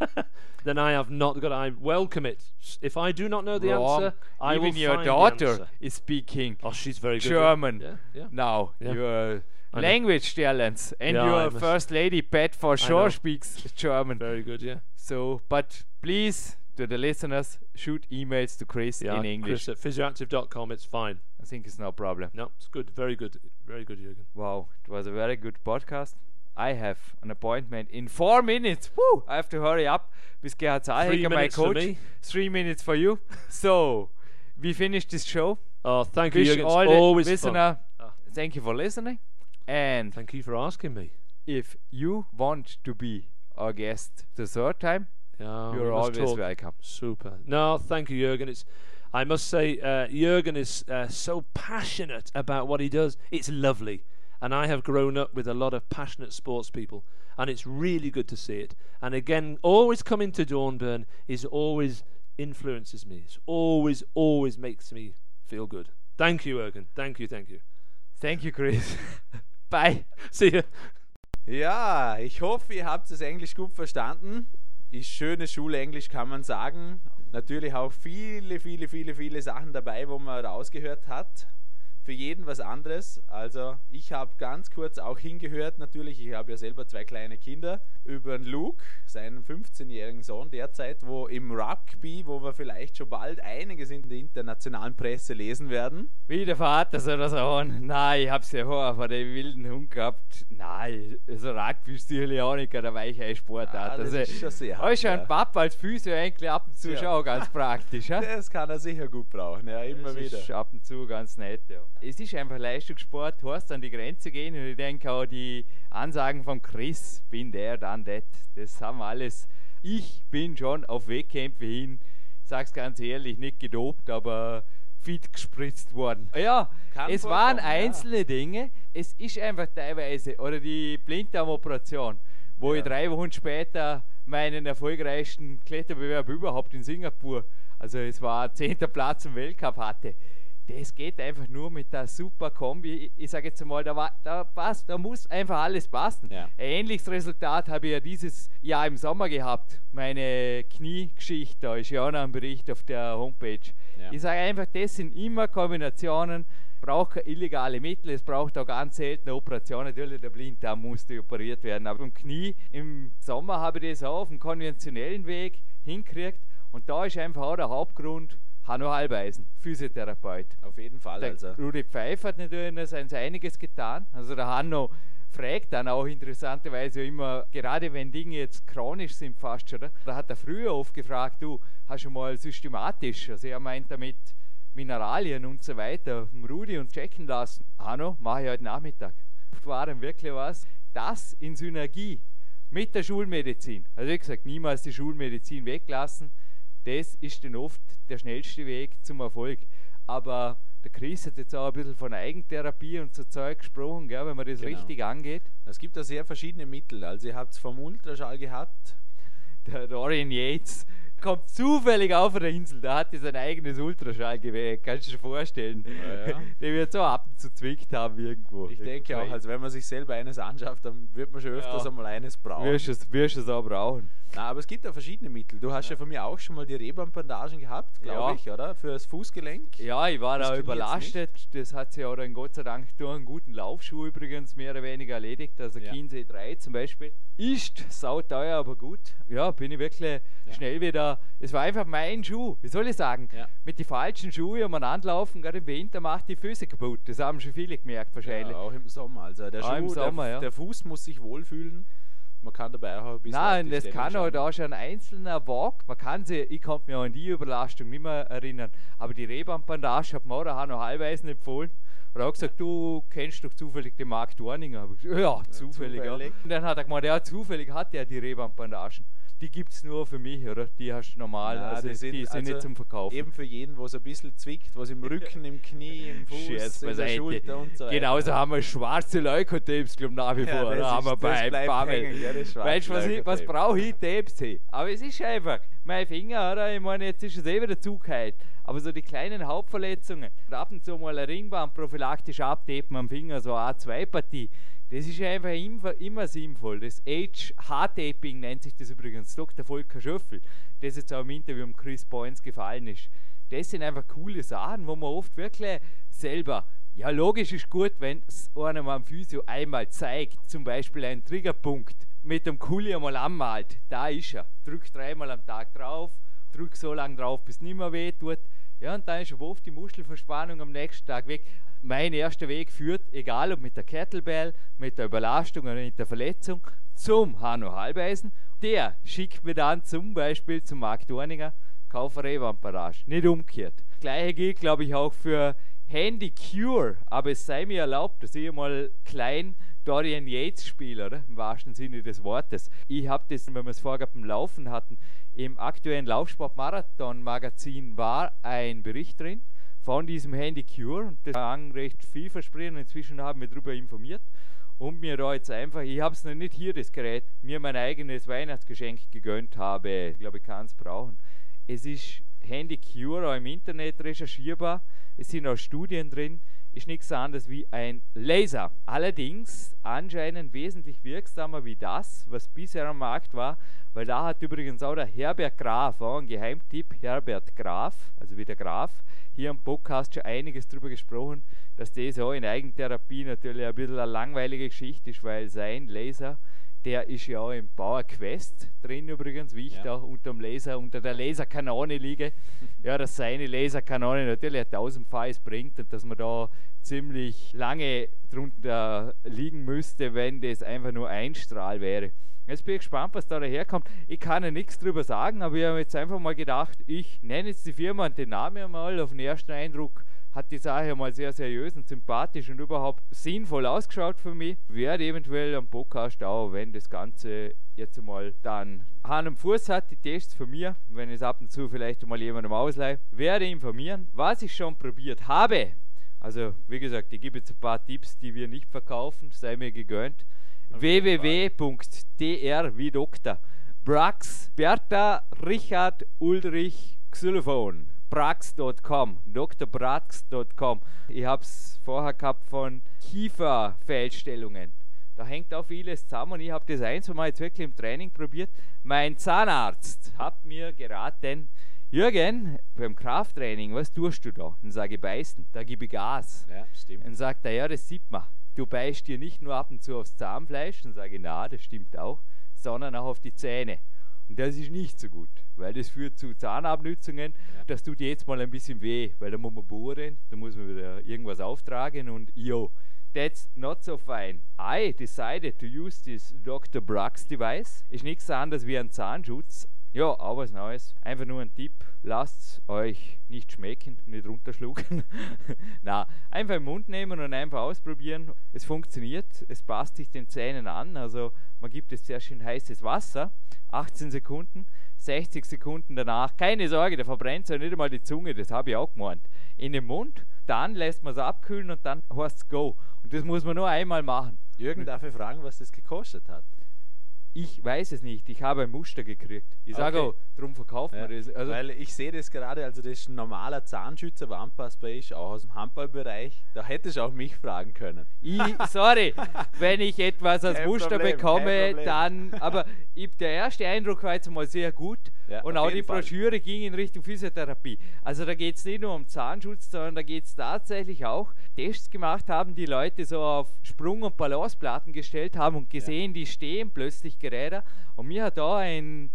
then I have not got. I welcome it. S- If I do not know the Wrong. answer, I Even will your find the daughter answer. is speaking Oh, she's very good. German Yeah, yeah. now. Yeah. Your I know. language talents. And Yeah, I your must- first lady, Pat, for know. sure speaks German. Very good. Yeah. So, but please, to the listeners, shoot emails to Chris Yeah. in English. Chris at physioactive dot com. It's fine. I think it's no problem. No, it's good. Very good. Very good, Jürgen. Wow, it was a very good podcast. I have an appointment in four minutes. Woo! I have to hurry up with Gerhard Three Zahlhecker, my minutes for coach. me. Three minutes for you. So, we finished this show. Oh, thank you, Wish Jürgen. It's all the always listener, fun. Ah, thank you for listening. And thank you for asking me. if you want to be our guest the third time, Yeah, we you're must always talk. welcome. Super. No, thank you, Jürgen. It's, I must say, uh, Jürgen is uh, so passionate about what he does. It's lovely. And I have grown up with a lot of passionate sports people, and it's really good to see it. And again, always coming to Dornbirn is always influences me. It's always, always makes me feel good. Thank you, Jürgen. Thank you, thank you. Thank you, Chris. Bye. See you. Ja, ich hoffe, ihr habt das Englisch gut verstanden. Ist schönes Schulenglisch, kann man sagen. Natürlich auch viele, viele, viele, viele Sachen dabei, wo man rausgehört hat. Für jeden was anderes. Also ich habe ganz kurz auch hingehört, natürlich, ich habe ja selber zwei kleine Kinder, über den Luke, seinen fünfzehnjährigen Sohn derzeit, wo im Rugby, wo wir vielleicht schon bald einiges in der internationalen Presse lesen werden. Wie der Vater soll das sagen. Nein, ich hab's ja vorher von dem wilden Hund gehabt. Nein, also Rugby ist sicherlich auch nicht der weiche Sportart. Ah, das also, ist schon sehr hart, ist schon ja. ein Papa als Physio eigentlich ab und zu Ja. schon auch ganz praktisch. Ja? Das kann er sicher gut brauchen, ja, immer Das wieder. ist ab und zu ganz nett, ja. Es ist einfach Leistungssport, du hast an die Grenze gehen und ich denke auch die Ansagen von Chris, bin der, dann das, das haben wir alles. Ich bin schon auf Wettkämpfe hin, ich sag's ganz ehrlich, nicht gedopt, aber fit gespritzt worden. Ja, Kann es waren vorkommen, ja. einzelne Dinge, es ist einfach teilweise, oder die Blinddarmoperation, wo Ja. ich drei Wochen später meinen erfolgreichsten Kletterbewerb überhaupt in Singapur, also es war zehnter Platz im Weltcup hatte. Das geht einfach nur mit der super Kombi. Ich sage jetzt mal, da, war, da passt, da muss einfach alles passen. Ja. Ein ähnliches Resultat habe ich ja dieses Jahr im Sommer gehabt. Meine Kniegeschichte, da ist ja auch noch ein Bericht auf der Homepage. Ja. Ich sage einfach, das sind immer Kombinationen, braucht keine illegale Mittel, es braucht auch ganz seltene Operationen. Natürlich, der Blinddarm musste operiert werden, aber beim Knie im Sommer habe ich das auch auf dem konventionellen Weg hingekriegt und da ist einfach auch der Hauptgrund, Hanno Halbeisen, Physiotherapeut. Auf jeden Fall. Der Also. Rudi Pfeiffer hat natürlich noch sein einiges getan. Also der Hanno fragt dann auch interessanterweise immer, gerade wenn Dinge jetzt chronisch sind fast, oder? Da hat er früher oft gefragt, du, hast du mal systematisch, also er meint damit Mineralien und so weiter, Rudi und checken lassen. Hanno, mache ich heute Nachmittag. War dann wirklich was, das in Synergie mit der Schulmedizin, also wie gesagt, niemals die Schulmedizin weglassen, das ist dann oft der schnellste Weg zum Erfolg. Aber der Chris hat jetzt auch ein bisschen von Eigentherapie und so Zeug gesprochen, gell, wenn man das Genau. richtig angeht. Es gibt da sehr verschiedene Mittel. Also ihr habt es vom Ultraschall gehabt. Der Dorian Yates kommt zufällig auf der Insel, da hat er sein eigenes Ultraschallgerät, kannst du dir vorstellen. Ja, ja. Der wird so ab und zu zwickt haben irgendwo. Ich denke auch, also wenn man sich selber eines anschafft, dann wird man schon öfters Ja. einmal eines brauchen. Wirst du es wirst du es auch brauchen. Na, aber es gibt ja verschiedene Mittel. Du hast ja, von mir auch schon mal die Rehbandbandagen gehabt, glaube Ja. ich, oder? Für das Fußgelenk. Ja, ich war Das da trainiert's überlastet. Das hat sich ja dann Gott sei Dank durch einen guten Laufschuh übrigens mehr oder weniger erledigt. Also Ja. Chiemsee drei zum Beispiel. Ist sauteuer, aber gut. Ja, bin ich wirklich Ja. schnell wieder. Es war einfach mein Schuh. Wie soll ich sagen? Ja. Mit den falschen Schuhen umeinander laufen, gerade im Winter macht die Füße kaputt. Das haben schon viele gemerkt wahrscheinlich. Ja, auch im Sommer. Also der, Auch Schuh, im Sommer, der, ja. der Fuß muss sich wohlfühlen. Man kann dabei auch ein bisschen. auf Nein, die das Stellung kann schauen. halt auch schon ein einzelner Walk. Man kann sich, ich kann mich auch an die Überlastung nicht mehr erinnern, aber die Rehbandbandage hat mir auch der Hanno Hallweisen empfohlen. Er hat gesagt, du kennst doch zufällig den Marc Dorninger. Hab ich gesagt, ja, zufällig. Ja. zufällig. Und dann hat er gemeint, ja, zufällig hat er die Rehbandbandagen. Die gibt es nur für mich, oder? Die hast du normal, Nein, also die die sind- sind, also nicht zum Verkaufen. Eben für jeden, wo es ein bisschen zwickt, was im Rücken, im Knie, im Fuß, Scherz in der beiseite. Schulter und so weiter. Genauso haben wir schwarze Leukotabes, glaube ich, nach wie Ja, vor. das Da haben ist- wir das bei bleibt Bammel. hängen, ja, das schwarze Weißt du, was, ich- was Leukotape. brauche ich? Tapes hey. Aber es ist einfach, mein Finger, oder? Ich meine, jetzt ist es eh wieder zugeheilt. Aber so die kleinen Hauptverletzungen, und ab und zu mal eine Ringband prophylaktisch abtapen am Finger, so eine A zwei Partie, das ist einfach immer, immer sinnvoll. Das H-Taping nennt sich das übrigens, Doktor Volker Schöffel, das jetzt auch im Interview mit Chris Boyens gefallen ist. Das sind einfach coole Sachen, wo man oft wirklich selber, ja logisch ist gut, wenn es einem am Physio einmal zeigt, zum Beispiel einen Triggerpunkt mit dem Kuli einmal anmalt, da ist er, drück dreimal am Tag drauf, drück so lange drauf, bis es nicht mehr weh tut, ja, und dann ist aber oft die Muskelverspannung am nächsten Tag weg. Mein erster Weg führt, egal ob mit der Kettlebell, mit der Überlastung oder mit der Verletzung, zum Hanno Hallweisen. Der schickt mir dann zum Beispiel zum Marc Dorninger, kaufe Rehbandbandagen, nicht umgekehrt. Das Gleiche gilt, glaube ich, auch für Handy Cure, aber es sei mir erlaubt, dass ich mal klein Dorian Yates spiele, oder? Im wahrsten Sinne des Wortes. Ich habe das, wenn wir es vorher beim Laufen hatten, im aktuellen Laufsport-Marathon-Magazin war ein Bericht drin von diesem Handy Cure und das klang recht vielversprechend. Inzwischen haben wir darüber informiert und mir da jetzt einfach, ich habe es noch nicht hier, das Gerät, mir mein eigenes Weihnachtsgeschenk gegönnt habe. Ich glaube, ich kann es brauchen. Es ist Handy Cure auch im Internet recherchierbar. Es sind auch Studien drin. Ist nichts anderes wie ein Laser. Allerdings anscheinend wesentlich wirksamer wie das, was bisher am Markt war, weil da hat übrigens auch der Herbert Graf, auch ein Geheimtipp, Herbert Graf, also wie der Graf, hier am Podcast schon einiges darüber gesprochen, dass das auch in Eigentherapie natürlich ein bisschen eine langweilige Geschichte ist, weil sein Laser, der ist ja auch im Power Quest drin übrigens, wie ich Ja. da unter dem Laser, unter der Laserkanone liege. Ja, dass seine Laserkanone natürlich ein tausendfaches bringt und dass man da ziemlich lange drunter liegen müsste, wenn das einfach nur ein Strahl wäre. Jetzt bin ich gespannt, was da daherkommt. Ich kann ja nichts drüber sagen, aber ich habe jetzt einfach mal gedacht, ich nenne jetzt die Firma und den Namen einmal. Auf den ersten Eindruck hat die Sache mal sehr seriös und sympathisch und überhaupt sinnvoll ausgeschaut für mich. Werde eventuell am Podcast auch, wenn das Ganze jetzt einmal dann Hand und Fuß hat, die Tests von mir, wenn ich es ab und zu vielleicht mal jemandem ausleihe, werde informieren, was ich schon probiert habe. Also, wie gesagt, ich gebe jetzt ein paar Tipps, die wir nicht verkaufen, sei mir gegönnt. w w w punkt d r wie Doktor Brax Bertha Richard Ulrich Xylophon brax punkt com dr brax punkt com. Ich habe es vorher gehabt von Kieferfehlstellungen. Da hängt auch vieles zusammen und ich habe das ein, zwei Mal jetzt wirklich im Training probiert. Mein Zahnarzt hat mir geraten, Jürgen, beim Krafttraining, was tust du da? Dann sage ich, beißen, da gebe ich Gas. Ja, stimmt. Dann sagt er, ja, das sieht man. Du beißt dir nicht nur ab und zu aufs Zahnfleisch, dann sage ich, na, das stimmt auch, sondern auch auf die Zähne. Und das ist nicht so gut, weil das führt zu Zahnabnützungen. Ja. Das tut jetzt mal ein bisschen weh, weil da muss man bohren, da muss man wieder irgendwas auftragen und jo, That's not so fine. I decided to use this Doktor Brax device. Ist nichts anderes wie ein Zahnschutz. Ja, auch was Neues. Einfach nur ein Tipp. Lasst euch nicht schmecken, nicht runterschlucken. Na, einfach im Mund nehmen und einfach ausprobieren. Es funktioniert, es passt sich den Zähnen an. Also man gibt es sehr schön heißes Wasser. achtzehn Sekunden, sechzig Sekunden danach. Keine Sorge, der verbrennt ja nicht einmal die Zunge, das habe ich auch gemeint. In den Mund, dann lässt man es abkühlen und dann heißt es go. Und das muss man nur einmal machen. Jürgen, darf ich fragen, was das gekostet hat? Ich weiß es nicht, ich habe ein Muster gekriegt. Ich sage Okay. auch, darum verkauft Ja, man das. Also, weil ich sehe das gerade, also das ist ein normaler Zahnschützer, der anpassbar ist, auch aus dem Handballbereich. Da hättest du auch mich fragen können. ich, sorry, wenn ich etwas als Kein Muster Problem, bekomme, kein Problem. dann, aber ich, der erste Eindruck war jetzt mal sehr gut Ja, und auf auch die jeden Fall. Broschüre ging in Richtung Physiotherapie. Also da geht es nicht nur um Zahnschutz, sondern da geht es tatsächlich auch, Tests gemacht haben, die Leute so auf Sprung- und Balanceplatten gestellt haben und gesehen, die stehen plötzlich Geräte. Und mir hat da ein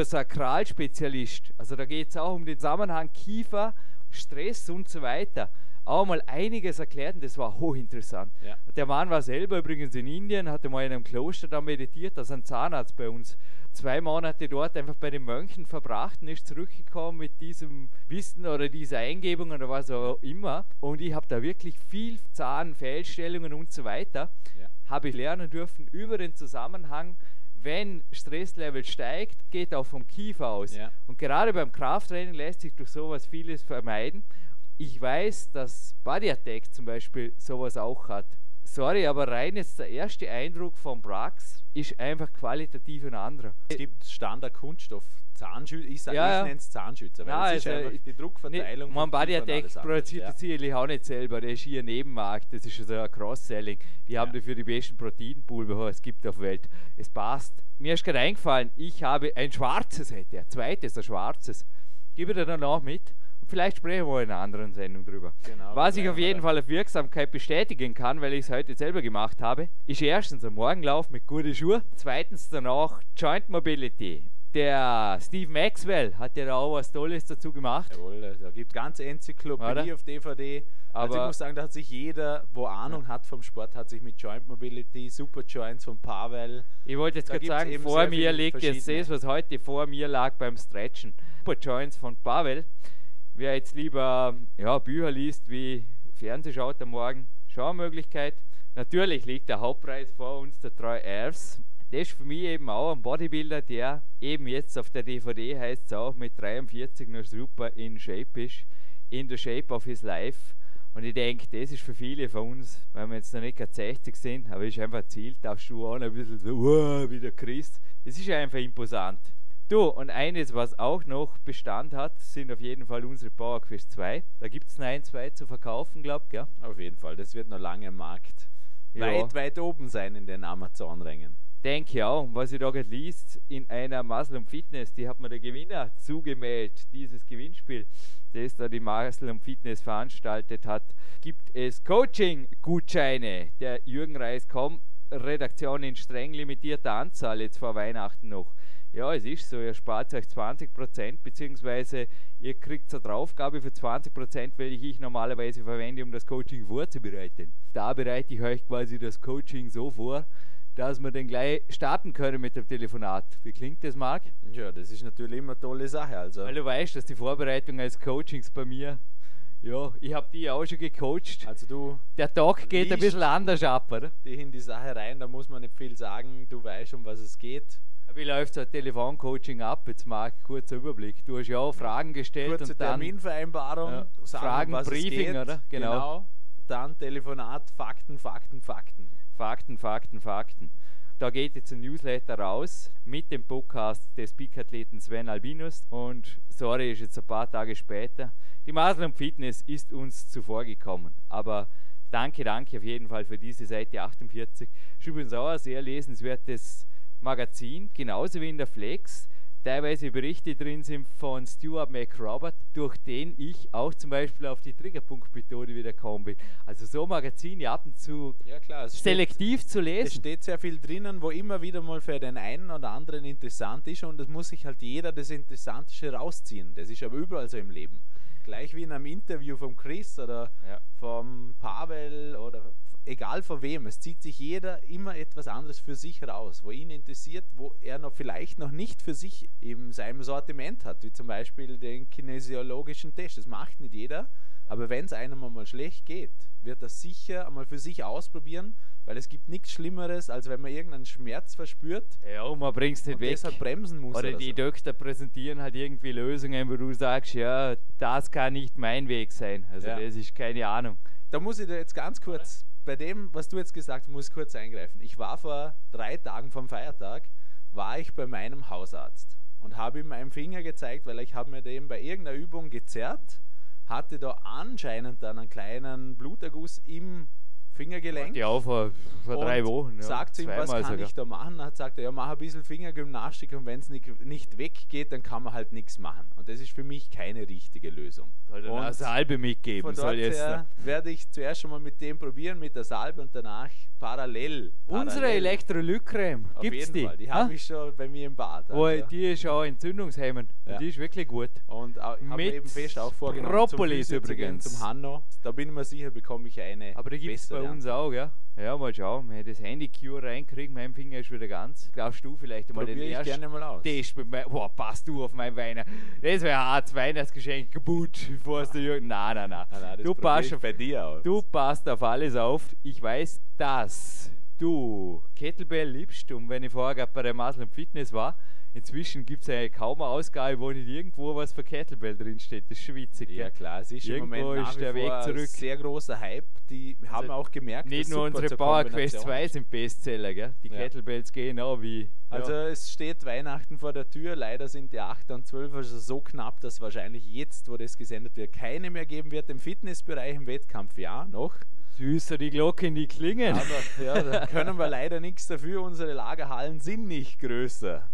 Kardiosakralspezialist, also da geht es auch um den Zusammenhang Kiefer, Stress und so weiter, auch mal einiges erklärt und das war hochinteressant. Ja. Der Mann war selber übrigens in Indien, hatte mal in einem Kloster da meditiert, als ein Zahnarzt bei uns. Zwei Monate dort einfach bei den Mönchen verbracht und ist zurückgekommen mit diesem Wissen oder dieser Eingebung oder was auch immer. Und ich habe da wirklich viel Zahnfehlstellungen und so weiter, Ja. habe ich lernen dürfen über den Zusammenhang. Wenn Stresslevel steigt, geht auch vom Kiefer aus. Ja. Und gerade beim Krafttraining lässt sich durch sowas vieles vermeiden. Ich weiß, dass Body Attack zum Beispiel sowas auch hat. Sorry, aber rein jetzt der erste Eindruck von Brax ist einfach qualitativ ein anderer. Es gibt Standard-Kunststoff, Zahnschützer, ich, sag, Ja, ja. ich nenne es Zahnschützer, weil Nein, es ist also einfach ich- die Druckverteilung. Man vom Body Kiefer und Attack alles andere. produziert Ja. das sicherlich auch nicht selber, der ist hier Nebenmarkt, das ist also ein Cross-Selling. Die haben Ja. dafür die besten Proteinpulver, die es gibt auf der Welt. Es passt. Mir ist gerade eingefallen, ich habe ein schwarzes, hätte er, zweites, ein schwarzes. Gebe dir dann auch mit. Und vielleicht sprechen wir mal in einer anderen Sendung drüber. Genau, Was ich bleiben auf wir jeden da. Fall auf Wirksamkeit bestätigen kann, weil ich es heute selber gemacht habe, ist erstens ein Morgenlauf mit guten Schuhen, zweitens danach Joint Mobility. Der Steve Maxwell hat ja da auch was Tolles dazu gemacht. Jawohl, da gibt es ganze Enzyklopädie Oder? auf D V D. Also Aber- ich muss sagen, da hat sich jeder, wo Ahnung hat vom Sport, hat sich mit Joint Mobility, Super Joints von Pavel. Ich wollte jetzt Da gerade gibt's sagen, eben vor sehr mir viele liegt jetzt verschiedene. das, was heute vor mir lag beim Stretchen. Super Joints von Pavel. Wer jetzt lieber ja, Bücher liest wie Fernseh schaut am Morgen, Schaumöglichkeit. Natürlich liegt der Hauptpreis vor uns, der Troy Alves. Das ist für mich eben auch ein Bodybuilder, der eben jetzt auf der D V D, heißt es auch, mit dreiundvierzig noch super in Shape ist. In the shape of his life. Und ich denke, das ist für viele von uns, weil wir jetzt noch nicht gerade sechzig sind, aber ist einfach Ziel, darfst du auch ein bisschen so, wow, wie der Christ. Es ist einfach imposant. Du, und eines, was auch noch Bestand hat, sind auf jeden Fall unsere PowerQuest zwei. Da gibt es noch ein, zwei zu verkaufen, glaube ich, gell? Auf jeden Fall, das wird noch lange im Markt Ja. weit, weit oben sein in den Amazon-Rängen. Denke ich auch. Und was ich da gerade liest, in einer Muscle und Fitness, die hat mir der Gewinner zugemeldet, dieses Gewinnspiel, das da die Muscle und Fitness veranstaltet hat, gibt es Coaching-Gutscheine der Jürgen Reis Punkt com Redaktion in streng limitierter Anzahl jetzt vor Weihnachten noch. Ja, es ist so, ihr spart euch zwanzig Prozent, beziehungsweise ihr kriegt eine Draufgabe für zwanzig Prozent, welche ich normalerweise verwende, um das Coaching vorzubereiten. Da bereite ich euch quasi das Coaching so vor, dass wir dann gleich starten können mit dem Telefonat. Wie klingt das, Marc? Ja, das ist natürlich immer eine tolle Sache. Also, Weil du weißt, dass die Vorbereitung als Coachings bei mir, ja, ich habe die auch schon gecoacht. also du Der Tag geht ein liest- bisschen anders ab, oder? dich in die Sache rein, da muss man nicht viel sagen, du weißt, um was es geht. Wie läuft so ein Telefoncoaching ab? Jetzt Marc, kurzer Überblick. Du hast ja auch Fragen gestellt Kurze und dann Terminvereinbarung, Ja, sagen, Fragen, um was Briefing, es geht. oder? Genau. Genau. Dann Telefonat, Fakten, Fakten, Fakten. Fakten, Fakten, Fakten. Da geht jetzt ein Newsletter raus mit dem Podcast des Peak-Athleten Sven Albinus. Und sorry, ist jetzt ein paar Tage später. Die Muscle und Fitness ist uns zuvor gekommen. Aber danke, danke auf jeden Fall für diese Seite achtundvierzig. Ist übrigens auch ein sehr lesenswertes Magazin, genauso wie in der Flex. Teilweise Berichte drin sind von Stuart McRobert, durch den ich auch zum Beispiel auf die Triggerpunkt-Methode wieder gekommen bin. Also so Magazine ab und zu Ja klar, es steht, selektiv zu es lesen. steht sehr viel drinnen, wo immer wieder mal für den einen oder anderen interessant ist und es muss sich halt jeder das Interessanteste rausziehen. Das ist aber überall so im Leben. Gleich wie in einem Interview vom Chris oder Ja. vom Pavel oder egal von wem, es zieht sich jeder immer etwas anderes für sich raus, wo ihn interessiert, wo er noch vielleicht noch nicht für sich in seinem Sortiment hat, wie zum Beispiel den kinesiologischen Test. Das macht nicht jeder, aber wenn es einem einmal schlecht geht, wird er sicher einmal für sich ausprobieren, weil es gibt nichts Schlimmeres, als wenn man irgendeinen Schmerz verspürt Ja, und man bringt es nicht und weg. deshalb bremsen muss. Oder oder die so. Doktor präsentieren halt irgendwie Lösungen, wo du sagst, ja, das kann nicht mein Weg sein. Also Ja. das ist keine Ahnung. Da muss ich dir jetzt ganz kurz, bei dem, was du jetzt gesagt hast, muss ich kurz eingreifen. Ich war vor drei Tagen vom Feiertag, war ich bei meinem Hausarzt und habe ihm meinen Finger gezeigt, weil ich habe mir den bei irgendeiner Übung gezerrt, hatte da anscheinend dann einen kleinen Bluterguss im Fingergelenk. Ja, vor, vor drei Und Wochen. Ja, sagt zu ihm, was zweimal kann sogar. ich da machen? Dann sagt er, ja, mach ein bisschen Fingergymnastik und wenn es nicht, nicht weggeht, dann kann man halt nichts machen. Und das ist für mich keine richtige Lösung. Soll dann Und eine Salbe mitgeben. Von Soll dort jetzt her werde ich zuerst schon mal mit dem probieren, mit der Salbe und danach parallel. Unsere parallel. Elektrolytcreme, Auf gibt's jeden die? Fall. Die Ha? habe ich schon bei mir im Bad. Oh, also. die ist auch entzündungshemmend. Ja. Und die ist wirklich gut. Und auch, ich habe mir Mit eben fest auch vorgenommen, Propolis zum Physio zu gehen, übrigens. zum Hanno. Da bin ich mir sicher, bekomme ich eine Aber die gibt es bei bessere uns auch, ja? Ja, mal schauen. Wenn ich das Handy-Cure reinkriege, mein Finger ist wieder ganz. Glaubst du vielleicht einmal den Probiere ich ersten gerne mal aus. Test mit meinem... Boah, passt du auf mein Weihnachten. Das wäre ein hartes Weihnachtsgeschenk. Kaputt. Bevor es der Jürgen... Nein, nein, nein. Nein, nein, das Du probiere passt ich auf- bei dir aus. Du passt auf alles auf. Ich weiß, dass du Kettlebell liebst. Und wenn ich vorher gerade bei der Muscle und Fitness war, inzwischen gibt es ja kaum eine Ausgabe, wo nicht irgendwo was für Kettlebell drinsteht. Das ist schon witzig. Ja gell? klar, es ist im Irgendwo Moment nach ist wie der Weg vor ein zurück. sehr großer Hype. Die haben auch gemerkt, Nicht dass nur super unsere zur Power Quest Kombination zwei ist. sind Bestseller, gell? Die Ja. Kettlebells gehen auch wie. Also ja. es steht Weihnachten vor der Tür. Leider sind die acht und zwölf also so knapp, dass wahrscheinlich jetzt, wo das gesendet wird, keine mehr geben wird. Im Fitnessbereich, im Wettkampf ja noch. Süßer die Glocken, die klingen. Aber ja, da können wir leider nichts dafür. Unsere Lagerhallen sind nicht größer.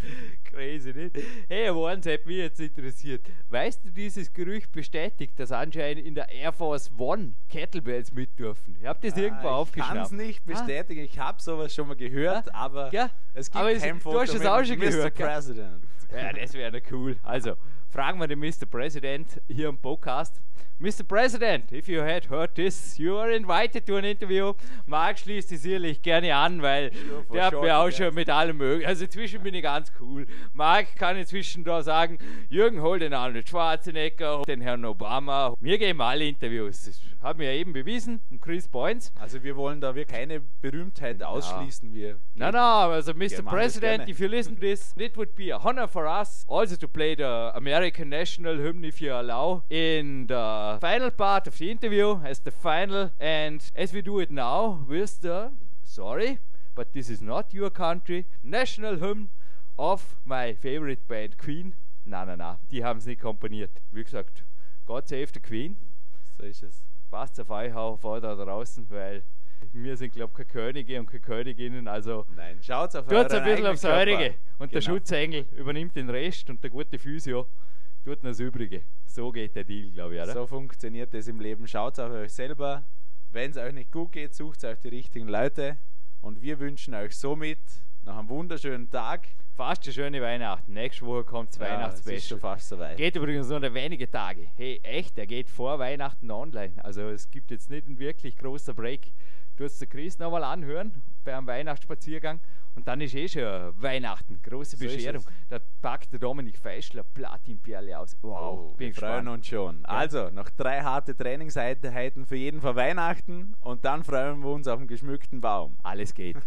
Crazy, nicht? Hey, aber eins hat mich jetzt interessiert. Weißt du, dieses Gerücht bestätigt, dass anscheinend in der Air Force One Kettlebells mit dürfen? Ich habe das irgendwo Ah, ich kann aufgeschnappt. es nicht bestätigen. Ich habe sowas schon mal gehört, aber Ja, es gibt aber es- kein du Foto hast es mit auch schon Mister gehört, gell? President. Ja, das wäre cool. Also, fragen wir den Mister President hier im Podcast. Mister President, if you had heard this, you are invited to an interview. Marc schließt sich sicherlich gerne an, weil Sure, for der hat sure, mir auch yes. schon mit allem möglich. Also inzwischen bin ich ganz cool. Marc kann inzwischen da sagen, Jürgen, hol den Arnold Schwarzenegger, den Herrn Obama. Wir geben alle Interviews. Das haben wir ja eben bewiesen. Und Chris Boynes. Also wir wollen da wirklich keine Berühmtheit ausschließen. Wir No, no, also Mister Ja, machen das President, gerne. if you listen to this, it would be a honor for us also to play the American national hymn, if you allow, in the final part of the interview as the final. And as we do it now with the, sorry, but this is not your country, national hymn of my favorite band, Queen. Na, na, na, die haben es nicht komponiert. Wie gesagt, God save the Queen. so ist es. Passt auf euch auf da draußen, weil wir sind, glaube ich, keine Könige und keine Königinnen, also Nein, schaut auf tut's euren ein bisschen eigenen aufs Körper. Eurige. Und der Genau. Schutzengel übernimmt den Rest und der gute Physio tut noch das Übrige. So geht der Deal, glaube ich, oder? So funktioniert das im Leben. Schaut auf euch selber. Wenn es euch nicht gut geht, sucht euch die richtigen Leute. Und wir wünschen euch somit noch einen wunderschönen Tag. Fast eine schöne Weihnachten. Nächste Woche kommt das Ja, es ist Weihnachtsspecial. schon fast soweit. Geht übrigens nur noch wenige Tage. Hey, echt, der geht vor Weihnachten online. Also es gibt jetzt nicht einen wirklich großer Break. Du hast den Chris nochmal anhören beim Weihnachtsspaziergang und dann ist eh schon Weihnachten. Große So ist Bescherung. es. Da packt der Dominik Feischler Platinperle aus. Wow, Oh, bin wir freuen gespannt. uns schon. Also, noch drei harte Trainingseinheiten für jeden vor Weihnachten und dann freuen wir uns auf einen geschmückten Baum. Alles geht.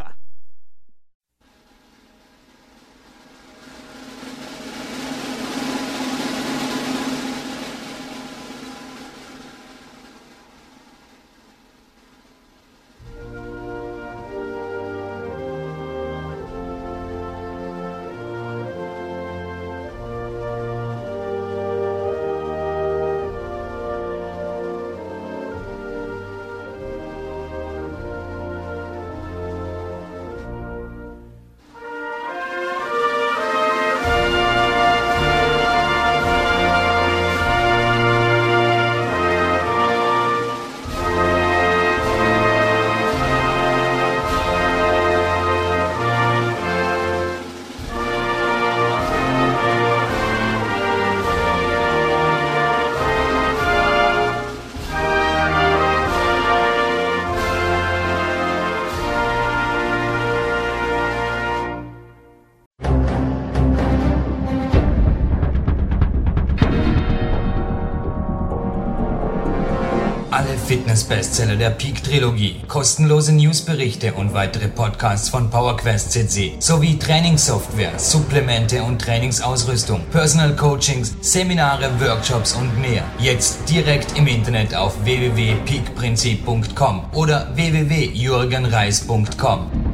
Fitness-Bestseller der Peak-Trilogie, kostenlose Newsberichte und weitere Podcasts von PowerQuest C C sowie Trainingssoftware, Supplemente und Trainingsausrüstung, Personal Coachings, Seminare, Workshops und mehr. Jetzt direkt im Internet auf w w w punkt peak prinzip punkt com oder w w w punkt jürgen reis punkt com.